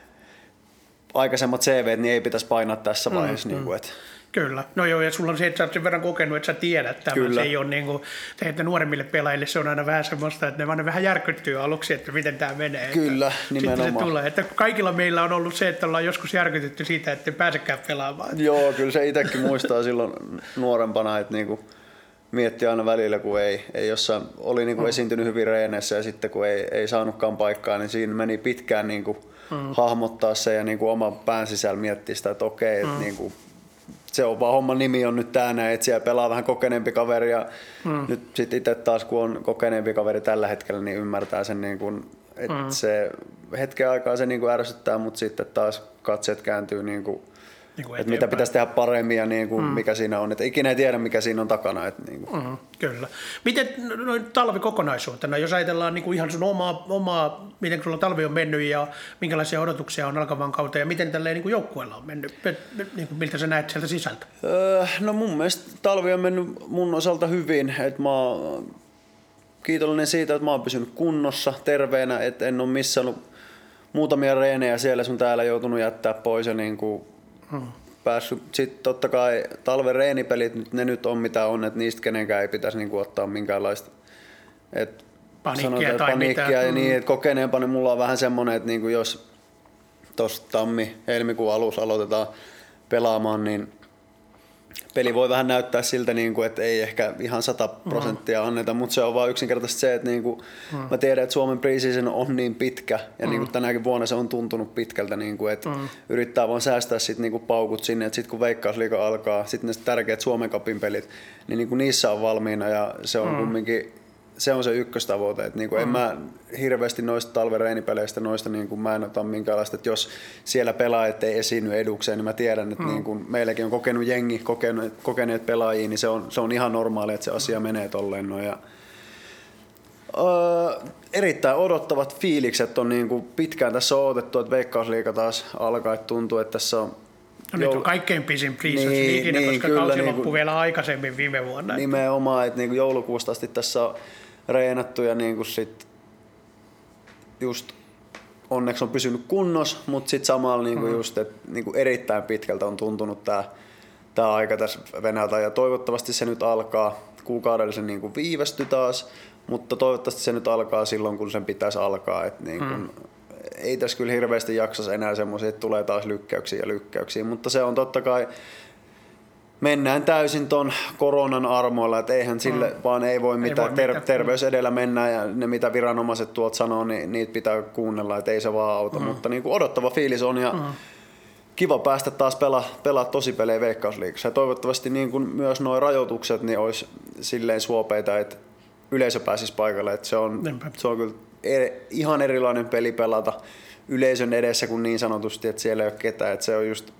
D: aikaisemmat CVt niin ei pitäisi painaa tässä vaiheessa. Niinku, et.
A: Kyllä. No joo, ja sulla on se, että sä oot sen verran kokenut, että sä tiedät tämän. Kyllä. Se ei ole niin kuin, että nuoremmille pelaajille se on aina vähän semmoista, että ne vaan vähän järkyttyy aluksi, että miten tämä menee.
D: Kyllä, nimenomaan.
A: Sitten se tulee. Että kaikilla meillä on ollut se, että ollaan joskus järkytytty siitä, että ei pääsekään pelaamaan.
D: Joo, kyllä se itsekin muistaa silloin nuorempana, että niinku mietti aina välillä, kun ei jossain, oli niinku esiintynyt hyvin reeneissä, ja sitten kun ei saanutkaan paikkaa, niin siinä meni pitkään niinku hahmottaa se ja niinku oman pään sisällä miettiä sitä, että okei, että niinku se on vaan homman nimi on nyt tää, että siellä pelaa vähän kokeneempi kaveri, ja nyt sitten itse taas kun on kokeneempi kaveri tällä hetkellä, niin ymmärtää sen, niin kun, että se hetken aikaa se niin kun ärsyttää, mutta sitten taas katseet kääntyy, niin kun, että mitä pitäisi tehdä paremmin ja niin kun, mikä siinä on, että ikinä ei tiedä mikä siinä on takana. Että, niin kun.
A: Kyllä. Miten talvi kokonaisuutena, jos ajatellaan niin kuin ihan sun omaa, miten sulla talvi on mennyt ja minkälaisia odotuksia on alkavan kautta ja miten tälleen niin kuin joukkueella on mennyt, niin kuin, miltä sä näet sieltä sisältä?
D: No mun mielestä talvi on mennyt mun osalta hyvin, että mä oon kiitollinen siitä, että mä oon pysynyt kunnossa, terveenä, että en ole missannut muutamia reenejä siellä sun täällä joutunut jättää pois ja niin kuin päässyt. Sitten totta kai talven reenipelit, ne nyt on mitä on, että niistä kenenkään ei pitäisi niinku ottaa minkäänlaista paniikkia ja niin, että kokeneempana mulla on vähän semmoinen, että niinku jos tuossa helmikuun alussa aloitetaan pelaamaan, niin peli voi vähän näyttää siltä, niin kuin, että ei ehkä ihan 100% anneta, mutta se on vaan yksinkertaisesti se, että niin kuin, mä tiedän, että Suomen preseason on niin pitkä ja niin kuin tänäkin vuonna se on tuntunut pitkältä, niin kuin, että yrittää vaan säästää sit, niin kuin paukut sinne, että sitten kun Veikkausliiga alkaa, sitten ne tärkeät Suomen Cupin pelit, niin kuin niissä on valmiina ja se on kumminkin se on se ykköstavoite. Että niinku en mä hirveästi noista talven reenipeleistä, niinku mä en ota minkäänlaista, että jos siellä pelaajat ei esiinny edukseen, niin mä tiedän, että niinku meilläkin on kokenut jengi, kokeneet pelaajia, niin se on ihan normaali, että se asia menee tolleen. No, ja, erittäin odottavat fiilikset on niinku pitkään tässä on odotettu, että Veikkausliiga taas alkaa, että tuntuu, että tässä on
A: nyt on kaikkein pisin preseason ikinä, koska kausi loppui vielä aikaisemmin viime vuonna.
D: Nimenomaan, että niinku joulukuusta asti tässä on reenattu ja niinku sit just onneksi on pysynyt kunnossa, mutta sitten samalla niinku just, että niinku erittäin pitkältä on tuntunut tää aika tässä Venäjältä ja toivottavasti se nyt alkaa. Kuukaudella se niinku viivästyi taas, mutta toivottavasti se nyt alkaa silloin, kun sen pitäisi alkaa. Et niinku, ei tässä kyllä hirveästi jaksas enää semmoisia, että tulee taas lykkäyksiä, mutta se on totta kai, mennään täysin ton koronan armoilla, että eihän sille vaan ei voi mitään, terveys edellä mennään ja ne mitä viranomaiset tuolta sanoo, niin niitä pitää kuunnella, että ei se vaan auta, mutta niin kuin odottava fiilis on ja kiva päästä taas pelaa tosipelejä Veikkausliigassa ja toivottavasti niin kuin myös nuo rajoitukset niin olisi silleen suopeita, että yleisö pääsisi paikalle, että se on kyllä ihan erilainen peli pelata yleisön edessä kuin niin sanotusti, että siellä ei ole ketään. Että se on just,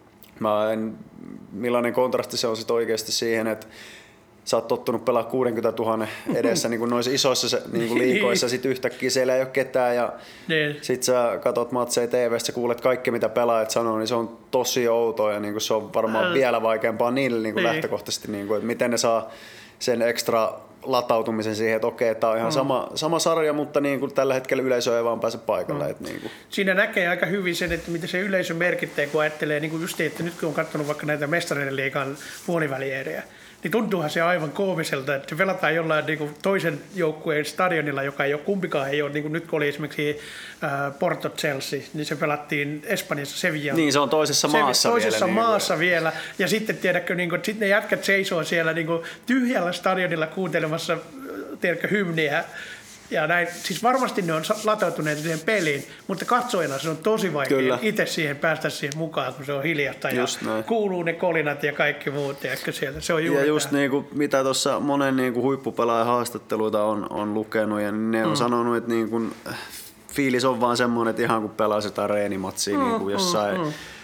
D: millainen kontrasti se on sit oikeasti siihen, että sä oot tottunut pelaa 60 000 edessä niin kuin noissa isoissa niin kuin liigoissa, sit yhtäkkiä siellä ei ole ketään ja sit sä katot matseja TV:stä, sä kuulet kaikki mitä pelaajat sanoo, niin se on tosi outoa ja niin kuin se on varmaan vielä vaikeampaa niille niin kuin lähtökohtaisesti, niin kuin, että miten ne saa sen ekstra latautumisen siihen, että okei, tämä on ihan sama sarja, mutta niin kuin tällä hetkellä yleisö ei vaan pääse paikalle. Niin kuin.
A: Siinä näkee aika hyvin sen, että miten se yleisö merkittää, kun ajattelee, niin kuin just että nyt kun on katsonut vaikka näitä Mestareiden liigan puolivälieriä, niin tuntuuhan se aivan koomiselta, että se pelataan jollain niin kuin toisen joukkueen stadionilla, joka ei ole kumpikaan, ei ole, niin kuin nyt kun oli esimerkiksi Porto Chelsea, niin se pelattiin Espanjassa Sevilla.
D: Niin, se on toisessa maassa
A: vielä. Ja sitten tiedätkö, niin kuin, sitten ne jätkät seisoo siellä niin kuin tyhjällä stadionilla kuuntelemassa tiedätkö, hymniä. Ja näin, siis varmasti ne on latautuneet siihen peliin, mutta katsojana se on tosi vaikea itse siihen päästä siihen mukaan, kun se on hiljasta ja kuuluu ne kolinat ja kaikki muut. Sieltä. Se on juuri
D: ja just niin kuin, mitä tuossa monen niin kuin huippupelaajan haastatteluita on lukenut, ja ne on sanonut, että niin kuin, fiilis on vaan semmoinen, että ihan kun pelasi jotain reenimatsia niin kuin jossain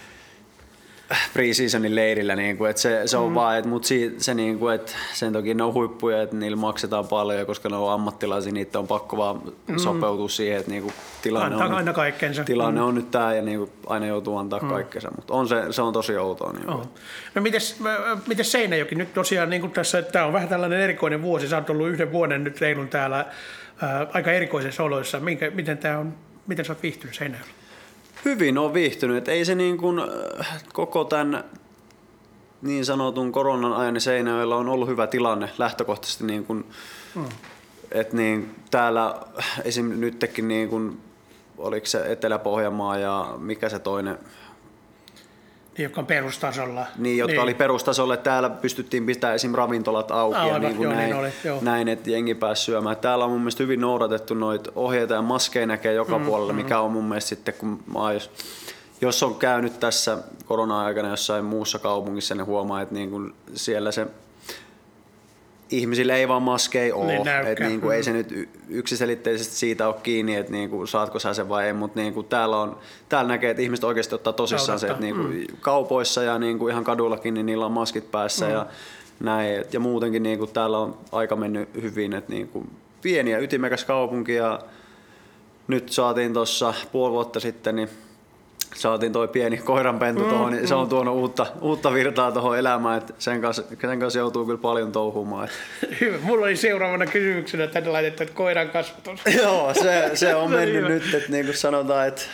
D: pre-seasonin leirillä, niin kuin, että se on vaan, mutta se, niin kuin, että sen toki ne on huippuja, että niillä maksetaan paljon, koska ne on ammattilaisia, niitä on pakko vaan sopeutua siihen, että niin kuin, tilanne on nyt tämä ja niin kuin, aina joutuu antaa kaikkensa, mutta se on tosi outoa. Niin
A: no mites Seinäjoki? Nyt tosiaan niin tässä, tämä on vähän tällainen erikoinen vuosi, sä oot ollut yhden vuoden nyt reilun täällä aika erikoisissa oloissa. Miten sä oot viihtynyt Seinäjoella?
D: Hyvin on viihtynyt, että ei se niin kuin koko tämän niin sanotun koronan ajan Seinäjoella on ollut hyvä tilanne lähtökohtaisesti, niin kuin, että niin täällä esim. Nytkin niin kuin, oliko se Etelä-Pohjanmaa ja mikä se toinen?
A: Niin, jotka on perustasolla.
D: Niin, jotka oli perustasolla. Täällä pystyttiin pitämään esim. Ravintolat auki ja niin kuin näin, että jengi pääsi syömään. Täällä on mun mielestä hyvin noudatettu noita ohjeita ja maskeja näkee joka puolella, mikä on mun mielestä sitten, kun jos on käynyt tässä korona-aikana jossain muussa kaupungissa, niin huomaa, että niin kuin siellä se ihmisillä ei vaan maskeja ole. Että niin kuin ei se nyt yksiselitteisesti siitä ole kiinni, että niin kuin saatko sä sen vai ei, mutta niin kuin täällä näkee, että ihmiset oikeasti ottaa tosissaan se, että niin kuin kaupoissa ja niin kuin ihan kadullakin niin niillä on maskit päässä ja näin. Ja muutenkin niin kuin täällä on aika mennyt hyvin, että niin kuin pieni ja ytimekäs kaupunki ja nyt saatiin tuossa puoli vuotta sitten, niin saatiin toi pieni koiranpentu tuohon, niin se on tuonut uutta virtaa tuohon elämään, että sen kanssa joutuu kyllä paljon touhumaan.
A: Hyvä. Mulla oli seuraavana kysymyksenä tänne laitettu, että koiran kasvatus.
D: Joo, se on mennyt nyt, että niin kuin sanotaan, että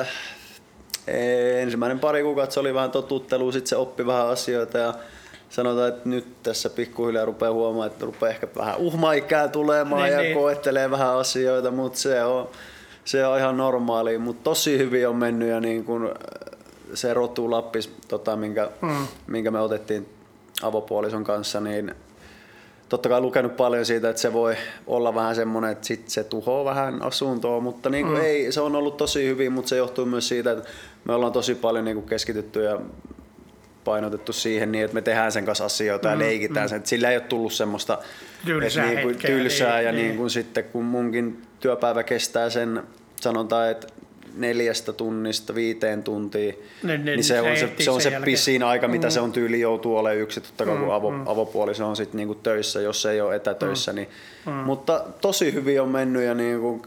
D: ensimmäinen pari kuukautta se oli vähän totuttelua, sitten se oppi vähän asioita ja sanotaan, että nyt tässä pikkuhiljaa rupeaa huomaamaan, että rupeaa ehkä vähän uhmaikää tulemaan ja koettelee vähän asioita, mutta se on ihan normaalia, mutta tosi hyvin on mennyt ja niin kun se rotu Lappis, minkä me otettiin avopuolison kanssa, niin totta kai lukenut paljon siitä, että se voi olla vähän semmoinen, että sit se tuhoaa vähän asuntoa, mutta niin kuin ei, se on ollut tosi hyvin, mutta se johtuu myös siitä, että me ollaan tosi paljon niin kuin keskitytty ja painotettu siihen niin, että me tehdään sen kanssa asioita ja leikitään sen, että sillä ei ole tullut semmoista tylsää ja niin kuin sitten kun munkin työpäivä kestää sen, sanotaan, että 4 tunnista 5 tuntia, niin se on se pisin aika, mitä se on tyyli joutuu olemaan yksin, totta kai kun avopuoliso on sitten niinku töissä, jos ei ole etätöissä. Niin, mutta tosi hyvin on mennyt ja niinku,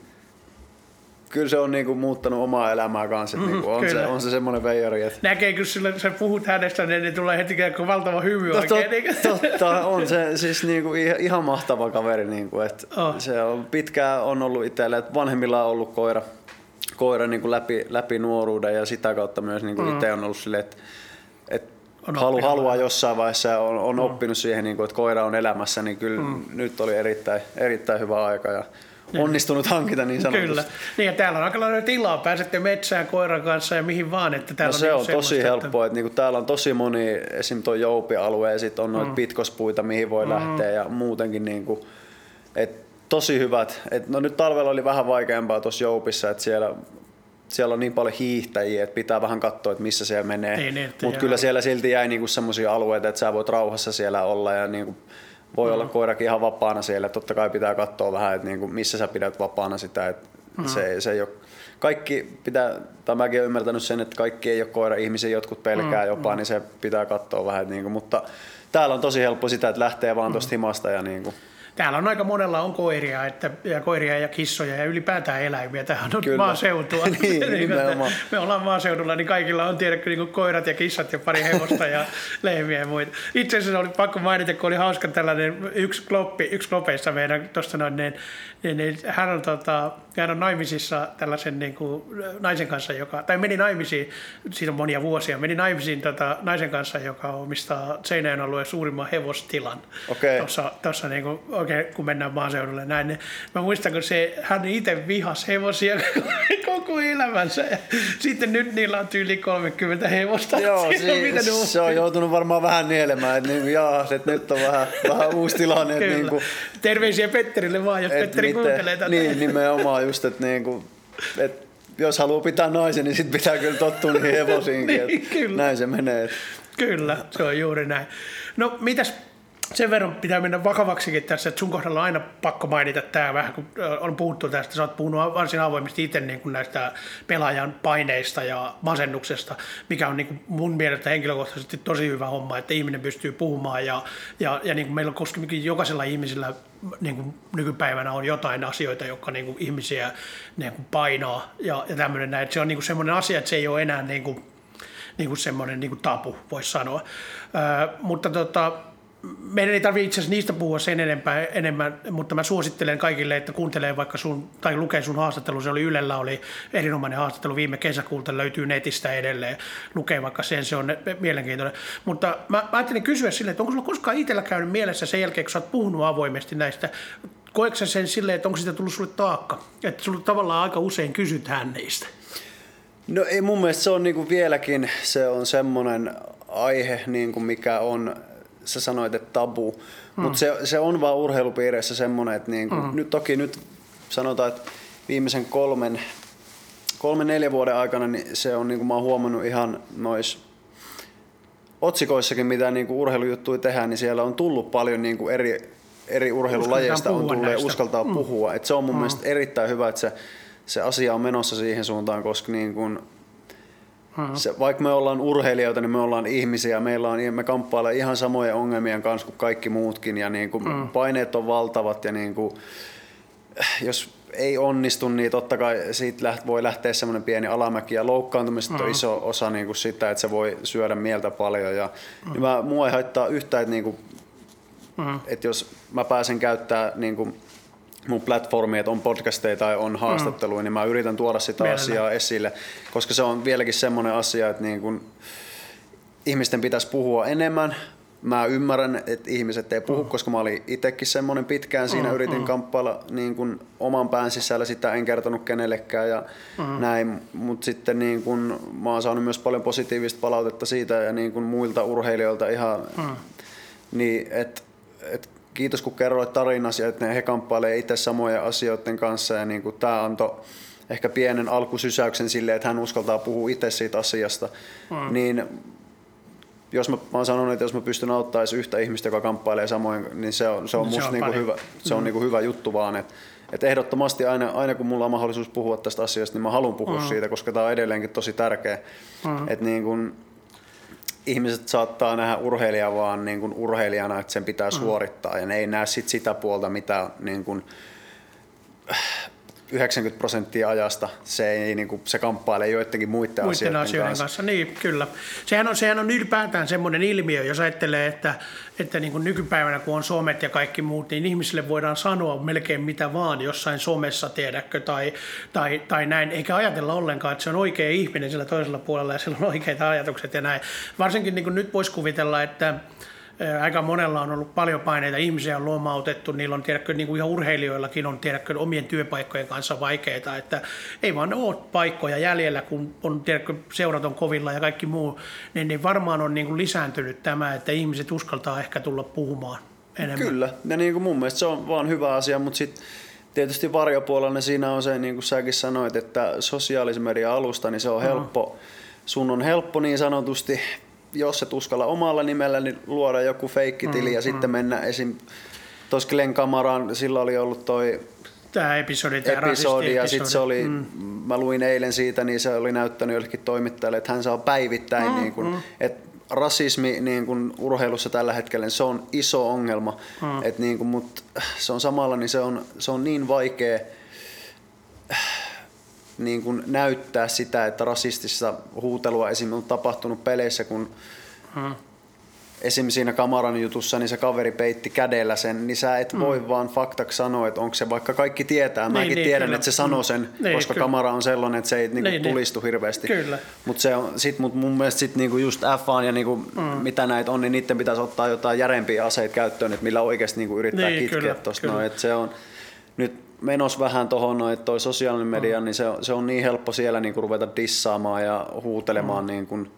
D: kyllä se on niinku muuttanut omaa elämää kanssa. Niinku on se semmoinen veijari. Että
A: näkee, kun sä puhut hänestä, niin tulee heti valtava hymy oikein.
D: Totta, on se siis niinku ihan mahtava kaveri. Niinku, että se on pitkään on ollut itselle, että vanhemmilla on ollut koira niin kuin läpi nuoruuden ja sitä kautta myös niin kuin itse on ollut silleen, että haluaa jossain vaiheessa on oppinut siihen, niin kuin, että koira on elämässä, niin kyllä nyt oli erittäin hyvä aika ja onnistunut hankita niin sanotusti.
A: Kyllä. Niin ja täällä on aika lailla tilaa, pääsette metsään koiran kanssa ja mihin vaan. Että täällä
D: se on tosi helppoa, että niinku täällä on tosi moni, esim. Tuo Joupi-alue ja sitten on noita pitkospuita, mihin voi lähteä ja muutenkin niinku, että tosi hyvät. No nyt talvella oli vähän vaikeampaa tuossa Joupissa, että siellä on niin paljon hiihtäjiä, että pitää vähän katsoa, että missä siellä menee. Mutta kyllä siellä silti jäi niinku semmoisia alueita, että sä voit rauhassa siellä olla ja niinku voi olla koirakin ihan vapaana siellä. Totta kai pitää katsoa vähän, että niinku missä sä pidät vapaana sitä. Että se ei ole, kaikki pitää, tai mäkin olen ymmärtänyt sen, että kaikki ei ole koira-ihmisiä, jotkut pelkää jopa, niin se pitää katsoa vähän. Niinku, mutta täällä on tosi helppo sitä, että lähtee vaan tuosta himasta ja niinku.
A: Täällä on aika monella on koiria, ja koiria ja kissoja ja ylipäätään eläimiä. Tämähän on maaseutua.
D: niin,
A: me ollaan maaseudulla, niin kaikilla on tiedätkö niin koirat ja kissat ja pari hevosta ja lehmiä ja muita. Itse asiassa oli pakko mainita, kun oli hauska tällainen yksi klopeissa meidän tuosta noin, niin hän on naimisissa tällaisen niin kuin naisen kanssa, tai meni naimisiin, siitä on monia vuosia, meni naimisiin naisen kanssa, joka omistaa Seinäjoen alueen suurimman hevostilan.
D: Okay.
A: Tuossa niin kuin, oikein, kun mennään maaseudulle näin, niin mä muistan, kun hän itse vihasi hevosia koko elämänsä. Ja sitten nyt niillä on tyyli 30 hevosta.
D: Joo, se on joutunut varmaan vähän nielemään, että nyt on vähän uusi tilanne. Että
A: terveisiä Petterille vaan, jos Petteri kuuntelee tätä.
D: Niin, nimenomaan just, että jos haluaa pitää naisen, niin sitten pitää kyllä tottua niihin hevosiinkin. Niin, näin se menee.
A: Kyllä, se on juuri näin. No mitäs? Sen verran pitää mennä vakavaksikin tässä, että sun kohdalla on aina pakko mainita tämä vähän, kun on puhuttu tästä. Sä oot puhunut varsin avoimesti itse niin kuin näistä pelaajan paineista ja masennuksesta, mikä on niin kuin mun mielestä henkilökohtaisesti tosi hyvä homma, että ihminen pystyy puhumaan ja niin kuin meillä on koskemikin jokaisella ihmisellä niin kuin nykypäivänä on jotain asioita, jotka niin kuin ihmisiä niin kuin painaa ja tämmöinen näin. Että se on niin kuin semmoinen asia, että se ei ole enää niin kuin semmoinen niin kuin tabu, voisi sanoa. Mutta meidän ei tarvitse itse asiassa niistä puhua sen enemmän, mutta mä suosittelen kaikille, että kuuntelee vaikka tai lukee sun haastattelu. Se oli Ylellä, oli erinomainen haastattelu viime kesäkuulta, löytyy netistä edelleen. Lukee vaikka se on mielenkiintoinen. Mutta mä ajattelin kysyä silleen, että onko sulla koskaan itsellä käynyt mielessä sen jälkeen, kun sä oot puhunut avoimesti näistä, koetko sä sen silleen, että onko siitä tullut sulle taakka? Että sulle tavallaan aika usein kysytään niistä.
D: No ei mun mielestä se on niinku vieläkin, se on semmoinen aihe, niinku mikä on, sä sanoit, että tabu, mutta se on vaan urheilupiireissä semmoinen, että niinku, nyt sanotaan, että viimeisen 3-4 vuoden aikana niin se on, niinku mä oon huomannut ihan noissa otsikoissakin, mitä niinku urheilujuttuja tehdään, niin siellä on tullut paljon niinku eri urheilulajeista on tullut ja uskaltaa puhua. Et se on mun mielestä erittäin hyvä, että se asia on menossa siihen suuntaan, koska niin kun vaikka me ollaan urheilijoita, niin me ollaan ihmisiä, me kamppailee ihan samojen ongelmien kanssa kuin kaikki muutkin ja niin kun paineet on valtavat ja niin kun, jos ei onnistu, niin totta kai siitä voi lähteä semmoinen pieni alamäki ja loukkaantumiset on iso osa niin kun sitä, että se voi syödä mieltä paljon ja niin mua ei haittaa yhtään, että, niin kun, että jos mä pääsen käyttämään niin kun mun platformi, että on podcasteja tai on haastatteluja, niin mä yritän tuoda sitä asiaa esille, koska se on vieläkin semmoinen asia, että niin kun ihmisten pitäisi puhua enemmän. mä ymmärrän, että ihmiset ei puhu, koska mä olin itsekin semmoinen pitkään siinä, yritin kamppailla niin kuin oman pään sisällä, sitä en kertonut kenellekään ja näin, mutta sitten niin kuin, mä oon saanut myös paljon positiivista palautetta siitä ja niin kuin muilta urheilijoilta ihan, niin että kiitos kun kerroit tarinasi, että he kamppailee itse samojen asioiden kanssa ja niin kuin tää antoi ehkä pienen alkusysäyksen sille, että hän uskaltaa puhua itse siitä asiasta, niin jos mä oon sanonut, että jos mä pystyn auttamaan edes yhtä ihmistä, joka kamppailee samoin, niin se on musta niinku hyvä, se on niinku hyvä juttu vaan, että ehdottomasti aina kun mulla on mahdollisuus puhua tästä asiasta, niin mä haluan puhua siitä, koska tää on edelleenkin tosi tärkeä, että niin kun ihmiset saattaa nähdä urheilijaa vaan niin kun urheilijana, että sen pitää suorittaa ja ne ei näe sitä puolta, mitä niin kun 90% ajasta se kamppailee joidenkin muiden asioiden kanssa.
A: Niin, kyllä. Sehän on ylipäätään semmoinen ilmiö, jos ajattelee, että niin kuin nykypäivänä kun on somet ja kaikki muut, niin ihmisille voidaan sanoa melkein mitä vaan jossain somessa, tiedätkö, tai näin, eikä ajatella ollenkaan, että se on oikea ihminen sillä toisella puolella ja sillä on oikeita ajatukset ja näin. Varsinkin niin kuin nyt voisi kuvitella, että aika monella on ollut paljon paineita, ihmisiä on lomautettu, niillä on tiedätkö, niin kuin ihan urheilijoillakin on tiedätkö, omien työpaikkojen kanssa vaikeita, että ei vaan ole paikkoja jäljellä, kun on tiedätkö, seurat on kovilla ja kaikki muu, niin varmaan on niin kuin lisääntynyt tämä, että ihmiset uskaltaa ehkä tulla puhumaan enemmän.
D: Kyllä, ja niin kuin mun mielestä se on vaan hyvä asia, mutta sitten tietysti varjopuolella siinä on se, niin kuin säkin sanoit, että sosiaalisen median alusta, niin se on helppo, sun on helppo niin sanotusti, jos et uskalla omalla nimellä, niin luoda joku feikkitili ja sitten mennä esim. Tuossa Glenn Kamaraan, sillä oli ollut
A: tämä episodi
D: ja sitten se oli, mä luin eilen siitä, niin se oli näyttänyt jollekin toimittajalle, että hän saa päivittäin, niin kun, että rasismi niin kun urheilussa tällä hetkellä, niin se on iso ongelma, että niin kun, mutta se on samalla, niin se on niin vaikea niin kuin näyttää sitä, että rasistista huutelua esimerkiksi on tapahtunut peleissä, kun esimerkiksi siinä Kamaran jutussa niin se kaveri peitti kädellä sen, niin sä et voi vaan faktaksi sanoa, että onko se, vaikka kaikki tietää, mäkin tiedän, kyllä. Että se sanoo sen, koska kyllä. Kamara on sellainen, että se ei niinku tulistu hirveästi. Mutta mun mielestä sit niinku just F1 ja niinku, mitä näitä on, niin niiden pitäisi ottaa jotain järempiä aseita käyttöön, että millä oikeasti niinku yrittää kitkeä tuosta. No, se on nyt menos vähän tuohon, toi sosiaalinen media, niin se on niin helppo siellä niin kuin ruveta dissaamaan ja huutelemaan. Niin kuin.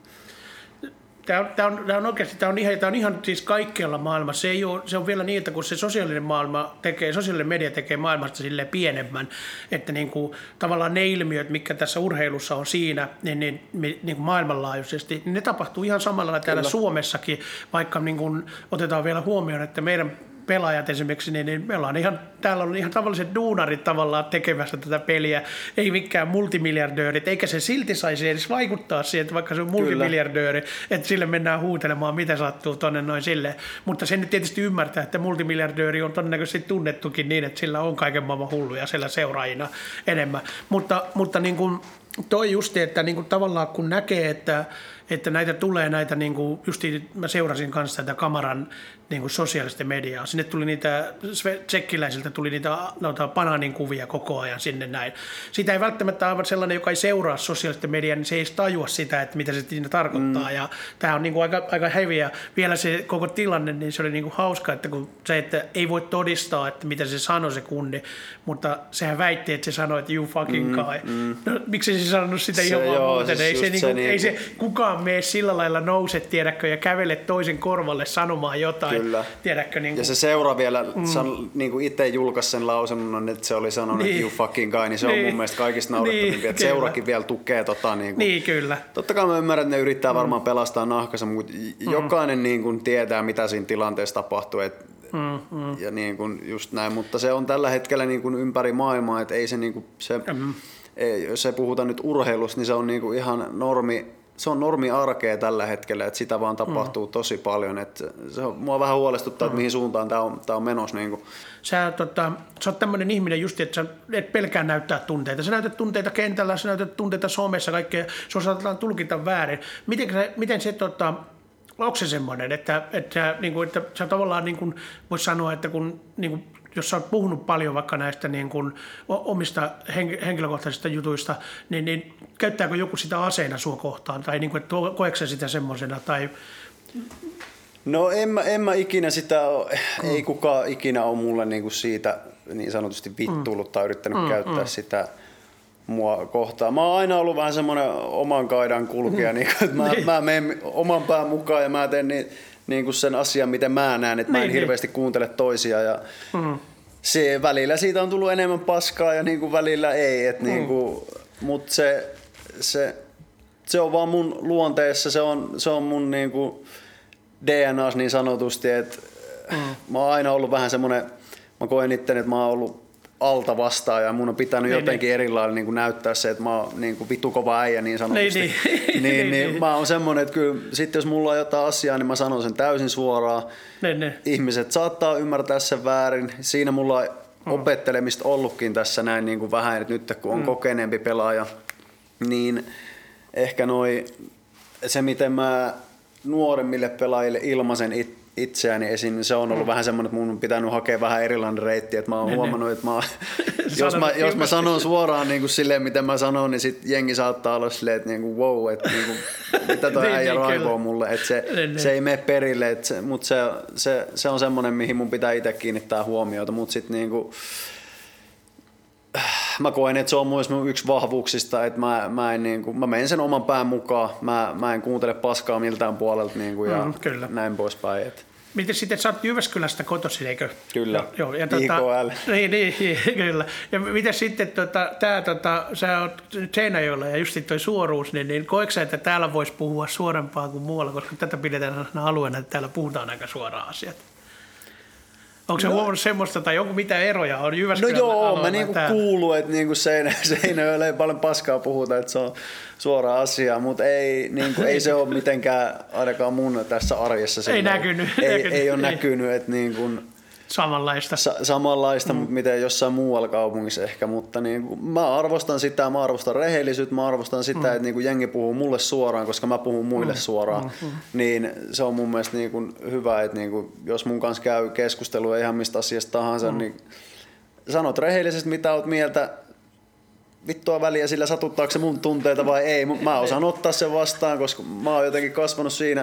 A: Tämä on oikeasti ihan siis kaikkialla maailmassa. Se on vielä niin, että kun se sosiaalinen media tekee maailmasta silleen pienemmän, että niin kuin, tavallaan ne ilmiöt, mitkä tässä urheilussa on siinä, niin kuin maailmanlaajuisesti, niin ne tapahtuu ihan samalla lailla täällä Suomessakin, vaikka niin kuin otetaan vielä huomioon, että meidän pelaajat esimerkiksi, niin me ollaan täällä on ihan tavalliset duunarit tavallaan tekemässä tätä peliä, ei mikään multimiljardöörit, eikä se silti saisi edes vaikuttaa siihen, että vaikka se on multimiljardööri, että sille mennään huutelemaan, mitä sattuu tonne noin silleen. Mutta sen nyt tietysti ymmärtää, että multimiljardööri on todennäköisesti tunnettukin niin, että sillä on kaiken maailman hulluja siellä seuraajina enemmän. Mutta niin kuin toi justi, että niin kuin tavallaan kun näkee, että näitä tulee näitä, niin kuin justiin mä seurasin kanssa tätä Kamaran niin kuin sosiaalista mediaa. Sinne tuli niitä, tsekkiläisiltä tuli niitä banaanin kuvia koko ajan sinne näin. Sitä ei välttämättä aivan sellainen, joka ei seuraa sosiaalista mediaa, niin se ei tajua sitä, että mitä se siinä tarkoittaa. Ja tämä on niin kuin aika heviä. Vielä se koko tilanne, niin se oli niin kuin hauska, että kun se, että ei voi todistaa, että mitä se sanoi se kundi, mutta sehän väitti, että se sanoi, että you fucking guy. No, miksi se sanonut sitä ihan vaan muuten? Ei se kukaan mene sillä lailla nouse, tiedätkö, ja kävele toisen korvalle sanomaan jotain. Kyllä. Tiedätkö, niin kuin.
D: Ja se seura vielä niin kuin itse julkaisi sen lausunnon, että se oli sanonut, että you fucking guy, niin se on mun mielestä kaikista naurettavimpi, että seurakin vielä tukee niin
A: kyllä.
D: Totta kai mä ymmärrän, että ne yrittää varmaan pelastaa nahkansa, mutta jokainen niin kuin tietää, mitä siinä tilanteessa tapahtuu, ja niin kuin just näin, mutta se on tällä hetkellä niin kuin ympäri maailmaa, että ei se, niin kuin jos ei puhuta nyt urheilusta, niin se on niin kuin ihan normi arkea tällä hetkellä, että sitä vaan tapahtuu tosi paljon. Että mua vähän huolestuttaa, että mihin suuntaan tämä on menossa. Niin kuin.
A: Sä oot tämmöinen ihminen just, että sä et pelkää näyttää tunteita. Sä näytät tunteita kentällä, sä näytät tunteita somessa, kaikkea. Se osataan tulkita väärin. Miten se, onko se semmoinen, että sä tavallaan niin kuin voisi sanoa, että kun niin kuin, jos sä oot puhunut paljon vaikka näistä niin kuin omista henkilökohtaisista jutuista, niin käyttääkö joku sitä aseena sua kohtaan? Tai niin kuin, että koetko sä sitä semmoisena? Tai
D: No en mä ikinä sitä, ei kukaan ikinä ole mulle niinku siitä niin sanotusti vittuillut tai yrittänyt käyttää sitä mua kohtaan. Mä oon aina ollut vähän semmoinen oman kaidan kulkija, niin, että mä menen oman pään mukaan ja mä teen niin sen asian, miten mä näen, että mä en hirveästi kuuntele toisia. Ja se, välillä siitä on tullut enemmän paskaa ja niin kuin välillä ei. Mutta se on vaan mun luonteessa, se on mun niin kuin DNAs niin sanotusti, että mä oon aina ollut vähän semmoinen, mä koen itteni, että mä oon ollut alta vastaan ja mun on pitänyt jotenkin erilailla niin kuin näyttää se, että mä oon niin kuin vittu kova äijä niin sanotusti. Niin, mä oon semmoinen, että kyllä sit jos mulla on jotain asiaa, niin mä sanon sen täysin suoraan. Ihmiset saattaa ymmärtää sen väärin. Siinä mulla on opettelemista ollutkin tässä näin niin kuin vähän, että nyt kun on kokeneempi pelaaja, niin ehkä se miten mä nuoremmille pelaajille ilmaisen itseäni esiin, niin se on ollut vähän semmoinen, että mun on pitänyt hakea vähän erilainen reitti, että mä oon huomannut, että jos mä sanon suoraan niin kuin silleen, miten mä sanon, niin sit jengi saattaa olla silleen, että niin kuin, wow, että niin kuin, mitä toi äijä raivoo mulle, että se ei mene perille, mutta se on semmoinen, mihin mun pitää itse kiinnittää huomiota, mutta sit niin kuin, mä koen, että se on myös mun yksi vahvuuksista, että mä menen sen oman pään mukaan, mä en kuuntele paskaa miltään puolelta niin kuin, ja näin poispäin.
A: Miten sitten, sä oot Jyväskylästä kotoisin, eikö?
D: Kyllä,
A: joo, ja
D: IKL.
A: Niin, kyllä. Ja miten sitten, sä oot Seinäjoella ja just toi suoruus, niin koetko sä, että täällä voisi puhua suorempaa kuin muualla, koska tätä pidetään alueena, että täällä puhutaan aika suoraan asiat? Onko se huomannut semmoista, tai onko mitä eroja on Jyväskylän alueella?
D: Mä niinku kuuluu, että niinku Seinäjoella ei paljon paskaa puhuta, että se on suora asia, mutta ei se ole mitenkään ainakaan mun tässä arjessa.
A: Ei näkynyt.
D: Ei ole näkynyt, että niinku samanlaista, mutta miten jossain muualla kaupungissa ehkä, mutta niinku, mä arvostan sitä, mä arvostan rehellisyyttä, mä arvostan sitä, että niinku jengi puhuu mulle suoraan, koska mä puhun muille suoraan, niin se on mun mielestä niinku hyvä, että niinku, jos mun kanssa käy keskustelua ihan mistä asiasta tahansa, niin sanot rehellisesti, mitä oot mieltä, vittua väliä sillä satuttaako se mun tunteita vai ei, mutta mä osaan ottaa sen vastaan, koska mä oon jotenkin kasvanut siinä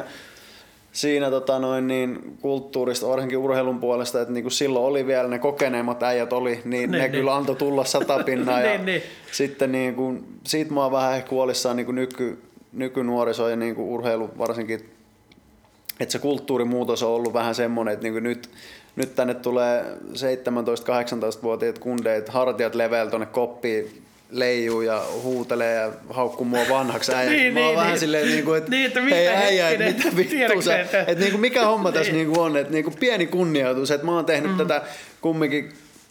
D: kulttuurista, varsinkin urheilun puolesta, että niinku silloin oli vielä ne kokeneemmat äijät oli, niin ne kyllä antoi tulla 100 pinnaa. Ja sitten niinku, siitä mä oon vähän ehkä huolissaan niinku nykynuoriso ja niinku urheilu varsinkin, että se kulttuurimuutos on ollut vähän semmoinen, että niinku nyt tänne tulee 17-18-vuotiaat kundeet, hartiat leveällä tuonne koppiin, leijuu ja huutelee ja haukkuu mua vanhaksi äijäksi. Mä oon vähän silleen, että hei äijä, että mitä vittu sä, että niinku, mikä homma tässä niinku on, että niinku pieni kunnioitus, että mä oon tehnyt tätä kumminkin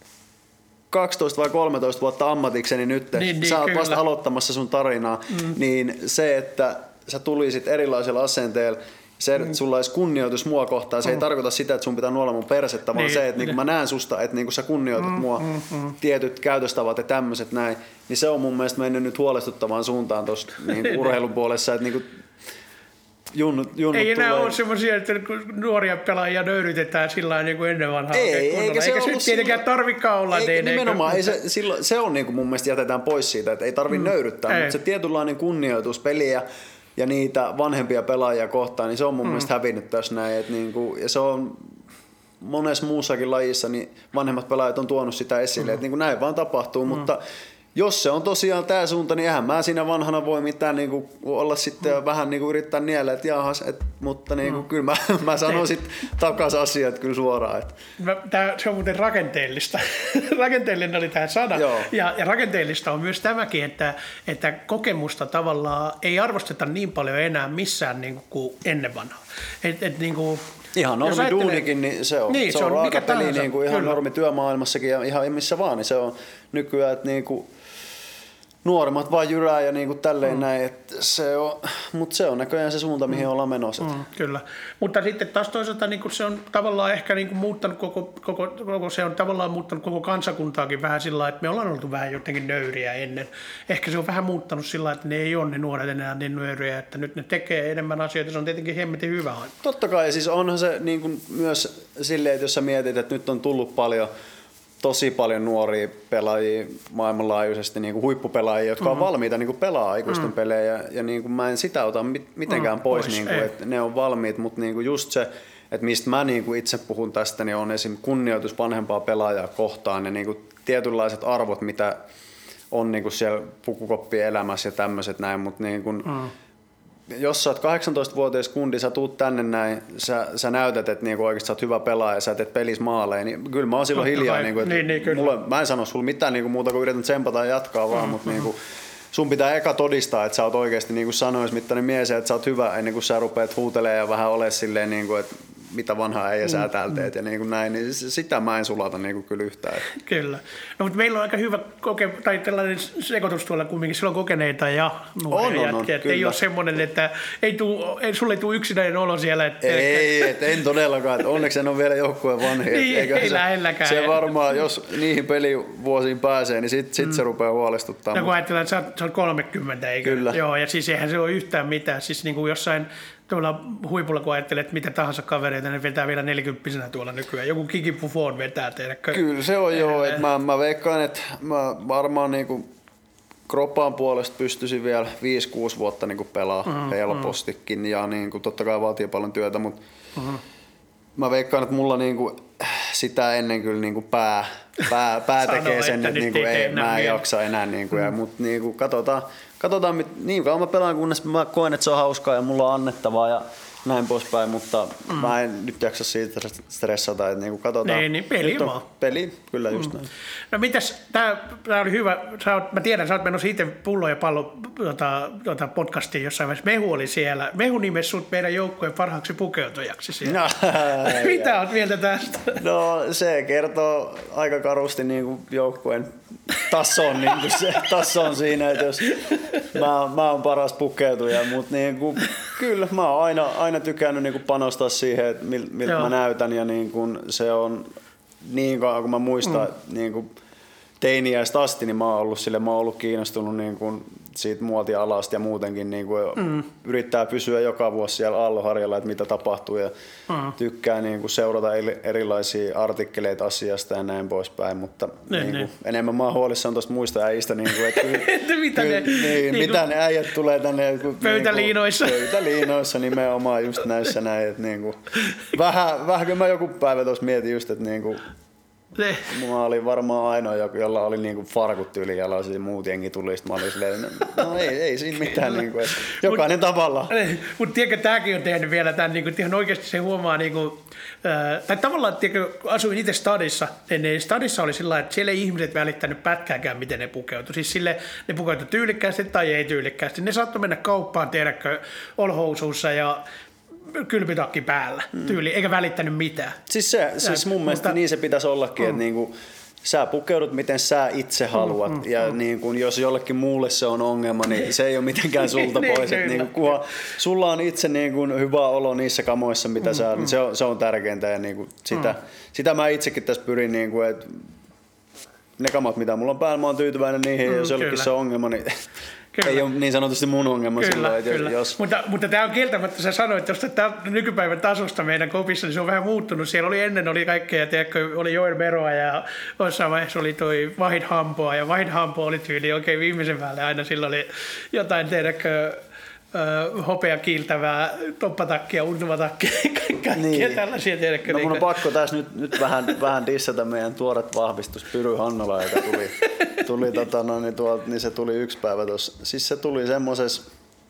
D: 12 vai 13 vuotta ammatikseni nyt, sä oot vasta aloittamassa sun tarinaa, niin se, että sä tulisit erilaisella asenteella, se, että sulla olisi kunnioitus mua kohtaan, se ei tarkoita sitä, että sun pitää nuolla mun persettä, vaan se, että niinku mä näen susta, että niinku sä kunnioitat mua, tietyt käytöstavat ja tämmöiset näin, niin se on mun mielestä mennyt nyt huolestuttavaan suuntaan tuossa niinku urheilun puolessa, että niinku junnut ei enää
A: ole semmoisia, että nuoria pelaajia nöyrytetään sillä niin kuin ennen vanhaa.
D: Eikä se
A: tietenkään tarvikaan olla.
D: Nimenomaan, se on niin kuin mun mielestä jätetään pois siitä, että ei tarvitse nöyryttää, mutta se tietynlainen kunnioitus peliä ja niitä vanhempia pelaajia kohtaan, niin se on mun mielestä hävinnyt tässä näin. Että niinku, ja se on monessa muussakin lajissa, niin vanhemmat pelaajat on tuonut sitä esille, että niinku näin vaan tapahtuu, mutta jos se on tosiaan tämä suunta, niin eihän mä siinä vanhana voi mitään niinku olla sitten vähän niinku yrittää niellä, että jahas, mutta niinku, kyllä mä sanon sitten takaisin asiat kyllä suoraan.
A: Se on muuten rakenteellista. Rakenteellinen oli tämä sana. Ja rakenteellista on myös tämäkin, että kokemusta tavallaan ei arvosteta niin paljon enää missään niinku kuin ennen vanhaa. Niinku,
D: ihan normi duunikin, niin se on raaka peli, niinku ihan normi työmaailmassakin ja ihan missä vaan, niin se on nykyään, että niinku nuoremmat vaan jyrää ja niinku tälleen näin, että mutta se on näköjään se suunta, mihin ollaan menossa.
A: Kyllä, mutta sitten taas toisaalta niinku se on tavallaan ehkä niinku muuttanut koko kansakuntaakin vähän sillä lailla, että me ollaan oltu vähän jotenkin nöyriä ennen. Ehkä se on vähän muuttanut sillä lailla, että ne ei ole ne nuoret enää niin nöyriä, että nyt ne tekee enemmän asioita, se on tietenkin hemmetin hyvä.
D: Totta kai, siis onhan se niinku myös silleen, että jos sä mietit, että nyt on tullut tosi paljon nuoria pelaajia maailmanlaajuisesti, niin kuin huippupelaajia, jotka on valmiita niin kuin pelaa aikuisten pelejä. Ja niin kuin mä en sitä ota mitenkään pois, niin kuin, että ne on valmiit, mutta niin kuin just se, että mistä mä niin kuin itse puhun tästä, niin on esim. Kunnioitus vanhempaa pelaajaa kohtaan ja niin kuin tietynlaiset arvot, mitä on niin kuin siellä pukukoppien elämässä ja tämmöiset näin, mutta niin kuin, jos sä oot 18-vuotias kundi, sä tuut tänne näin, sä näytät, että niinku oikeasti sä oot hyvä pelaaja ja sä teet pelissä maaleja, niin kyllä mä oon silloin hiljaa. Niinku, mä en sano sulle mitään niinku muuta kuin yritän tsempata ja jatkaa vaan, mutta niinku, sun pitää eka todistaa, että sä oot oikeasti niinku sanoismittainen mies ja että sä oot hyvä ennen kuin sä rupeat huutelemaan ja vähän ole silleen, niinku, että mitä vanhaa äijä sä täällä teet ja niin kuin näin, niin sitä mä en sulata niin kuin kyllä yhtään.
A: Kyllä. No mutta meillä on aika hyvä tai tällainen sekoitus tuolla kumminkin, silloin kokeneita ja nuoria jätkiä. Ei ole semmoinen, että sulle ei tule yksinäinen olo siellä.
D: En todellakaan. Että onneksi en ole vielä joukkueen vanhi.
A: Niin, ei lähelläkään.
D: Se varmaan, jos niihin pelivuosiin pääsee, niin sit se rupeaa huolestuttamaan.
A: No kun ajatellaan, että sä oot 30, eikö?
D: Kyllä.
A: Joo, ja siis eihän se ole yhtään mitään. Siis niin kuin jossain tuolla huipulla, kun ajattelee, että mitä tahansa kavereita, ne vetää vielä 40-vuotiaana tuolla nykyään. Joku Kiki Buffon vetää teille.
D: Kyllä se on joo. Että mä veikkaan, että mä varmaan niinku kroppaan puolesta pystyisin vielä 5-6 vuotta niinku pelaa helpostikin. Ja niinku, totta kai vaatii paljon työtä, mutta mä veikkaan, että mulla niinku sitä ennen kyllä niinku pää tekee sen, että niinku mä en jaksa enää. Niinku, mutta niinku, katsotaan, niin kauan mä pelaan, kunnes mä koen, että se on hauskaa ja mulla on annettavaa ja näin poispäin, mutta mä en nyt jaksa siitä stressata, että niinku katsotaan.
A: Niin, peli vaan.
D: Peli, kyllä just näin.
A: No mitäs, tää oli hyvä, mä tiedän, sä oot menossa itse Pullo ja pallo podcastiin jossain vaiheessa, Mehu oli siellä. Mehu nimesi sut meidän joukkueen parhaaksi pukeutujaksi siellä. No, mitä oot mieltä tästä?
D: No se kertoo aika karusti niinku joukkueen tason, niinku se tason siinä, että jos mä oon paras pukeutuja, mutta niinku, kyllä mä oon aina tykännyt niinku panostaa siihen, että miltä mä näytän ja niinku, se on niin kauan kun mä muistan niinku, teiniäistä asti, niin mä oon ollut kiinnostunut niinku, siitä muotialasta ja muutenkin niinku, yrittää pysyä joka vuosi siellä aallonharjalla, että mitä tapahtuu ja tykkää niinku, seurata erilaisia artikkeleita asiasta ja näin poispäin, mutta niinku, enemmän mä oon huolissaan tuosta muista äijistä, niinku, että mitä ne äijät tulee tänne
A: pöytäliinoissa.
D: Pöytäliinoissa nimenomaan just näissä näin, että niinku, vähän kun mä joku päivä tuossa mietin just, että niinku, mä olin varmaan ainoa, jolla oli niinku farkut tyylijalassa ja muut jengi tuli, sit mä olin silleen, no ei siinä mitään, niinku, jokainen tavallaan.
A: Mutta tiedätkö, tämäkin on tehnyt vielä tämän, niinku, ihan oikeasti se huomaa, niinku, tai tavallaan, tiedätkö, asuin itse stadissa, niin stadissa oli sillä lailla, että siellä ei ihmiset välittänyt pätkääkään, miten ne pukeutui. Siis sille ne pukeutui tyylikkäästi tai ei tyylikkäästi. Ne saattoi mennä kauppaan, tiedätkö, olhousuussa ja kylpytakki päällä tyyli, eikä välittänyt mitään.
D: Siis mun mielestä niin se pitäisi ollakin, että niinku, sä pukeudut miten sä itse haluat ja niinku, jos jollekin muulle se on ongelma, niin se ei ole mitenkään sulta pois. Niinku, kunhan sulla on itse niinku, hyvä olo niissä kamoissa, mitä sä, niin se on tärkeintä ja niinku, sitä mä itsekin tässä pyrin, niinku, että ne kamat mitä mulla on päällä, mä oon tyytyväinen niihin ja jos jollekin se on ongelma, niin kyllä. Ei ole niin sanotusti mun ongelma silloin, että jos...
A: Mutta tämä on kieltämättä, sä sanoit, että tuosta nykypäivän tasosta meidän kopissa, niin se on vähän muuttunut. Siellä ennen oli kaikkea, tiedätkö, oli Joel Meroa ja jossain vaiheessa oli toi Vahid Hampoa ja Vahid Hampo oli tyyli oikein viimeisen päälle. Aina silloin oli jotain, tiedätkö, hopea kiiltävää toppatakkia, untumatakkia, kaikkea tällaisia, tiedätkö.
D: No mun on pakko tässä nyt vähän dissata meidän tuoret vahvistus Pyry Hannola, joka tuli niin se tuli yksi päivä tuossa. Siis se tuli semmoses,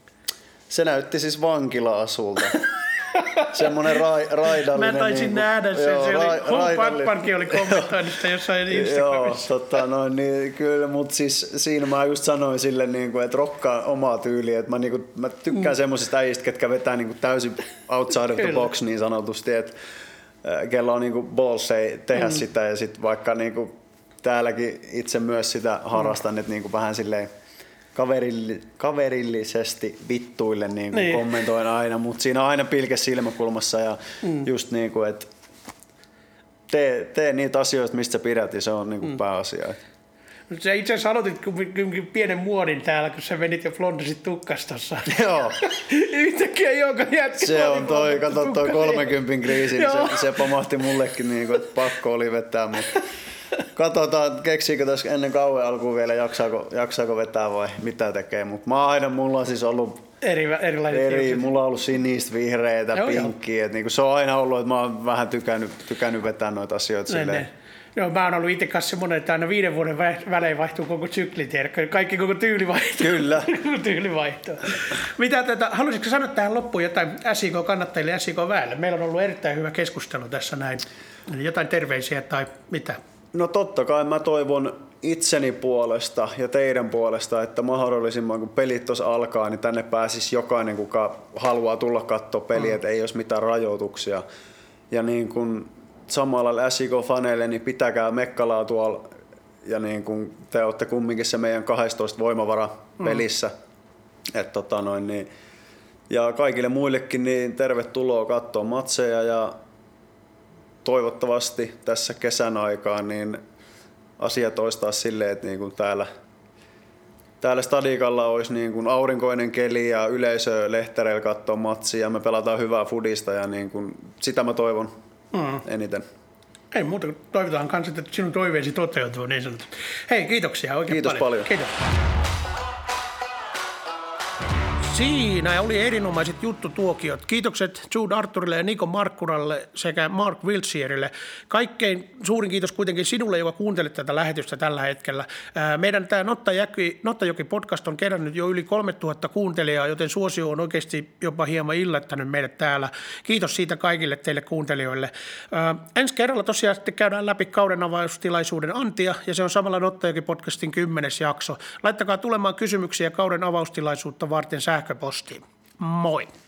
D: se näytti siis vankila-asulta. Semmoinen raidallinen.
A: Mä taisin nähdä sen, Pakpankin oli kommentoinut sitä jossain Instagramissa.
D: Joo, niin kyllä, mutta siis siinä mä just sanoin sille, että rokkaa omaa tyyliä, että mä tykkään semmoisista äijistä, ketkä vetää täysin outside of the box niin sanotusti, että kello on balls ei tehdä sitä ja sitten vaikka täälläkin itse myös sitä harrastan, että vähän silleen kaverillisesti vittuille niin. Kommentoin aina, mutta siinä on aina pilke silmäkulmassa ja just että tee niitä asioita, mistä sä pidät ja se on pääasia.
A: Sä itse asiassa aloitit pienen muodin täällä, kun sä menit ja flondasit tukkastossa.
D: Joo.
A: Yhtäkkiä joka jätkä.
D: Se on toi 30 kriisi, niin se pamahti mullekin, että pakko oli vetää, mutta katsotaan, keksiikö tässä ennen kauan alkuun vielä, jaksaako vetää vai mitä tekee, mutta mulla on siis ollut
A: Erilaiset
D: mulla on ollut sinistä, vihreitä, pinkkiä. Niinku se on aina ollut, että mä oon vähän tykännyt vetää noita asioita silleen.
A: Joo, mä oon ollut itse kanssa semmoinen, että aina 5 vuoden välein vaihtuu koko sykli, tiedätkö? Kaikki koko tyyli vaihtuu.
D: Kyllä.
A: Tyyli vaihtuu. Haluaisitko sanoa tähän loppuun jotain SIK-kannattajille ja SIK-väelle? Meillä on ollut erittäin hyvä keskustelu tässä näin. Jotain terveisiä tai mitä?
D: No totta kai mä toivon itseni puolesta ja teidän puolesta, että mahdollisimman kun pelit tuossa alkaa, niin tänne pääsisi jokainen, kuka haluaa tulla katsoa peliä, että ei olisi mitään rajoituksia. Ja niin kuin samalla SIK-faneille, niin pitäkää mekkalaa tuolla, ja niin kuin te olette kumminkin se meidän 12 voimavara pelissä. Niin, ja kaikille muillekin niin tervetuloa katsoa matseja, ja toivottavasti tässä kesän aikaan niin asiat olisi taas silleen, että niin kuin täällä stadikalla olisi niin kuin aurinkoinen keli ja yleisö lehtereillä katsoo matsia ja me pelataan hyvää fudista ja niin kuin sitä mä toivon eniten.
A: Ei muuta kuin toivotaan kanssa, että sinun toiveesi toteutuu niin sanotusti. Hei, kiitoksia oikein paljon. Kiitos. Siinä oli erinomaiset juttutuokiot. Kiitokset Jude Arthurille ja Niko Markkuralle sekä Mark Wiltsierille. Kaikkein suurin kiitos kuitenkin sinulle, joka kuuntelet tätä lähetystä tällä hetkellä. Meidän tämä Nottajoki-podcast on kerännyt jo yli 3000 kuuntelijaa, joten suosio on oikeasti jopa hieman yllättänyt meidät täällä. Kiitos siitä kaikille teille kuuntelijoille. Ensi kerralla tosiaan sitten käydään läpi kauden avaustilaisuuden antia, ja se on samalla Nottajoki-podcastin 10. jakso. Laittakaa tulemaan kysymyksiä kauden avaustilaisuutta varten sähköpostiin. Moi!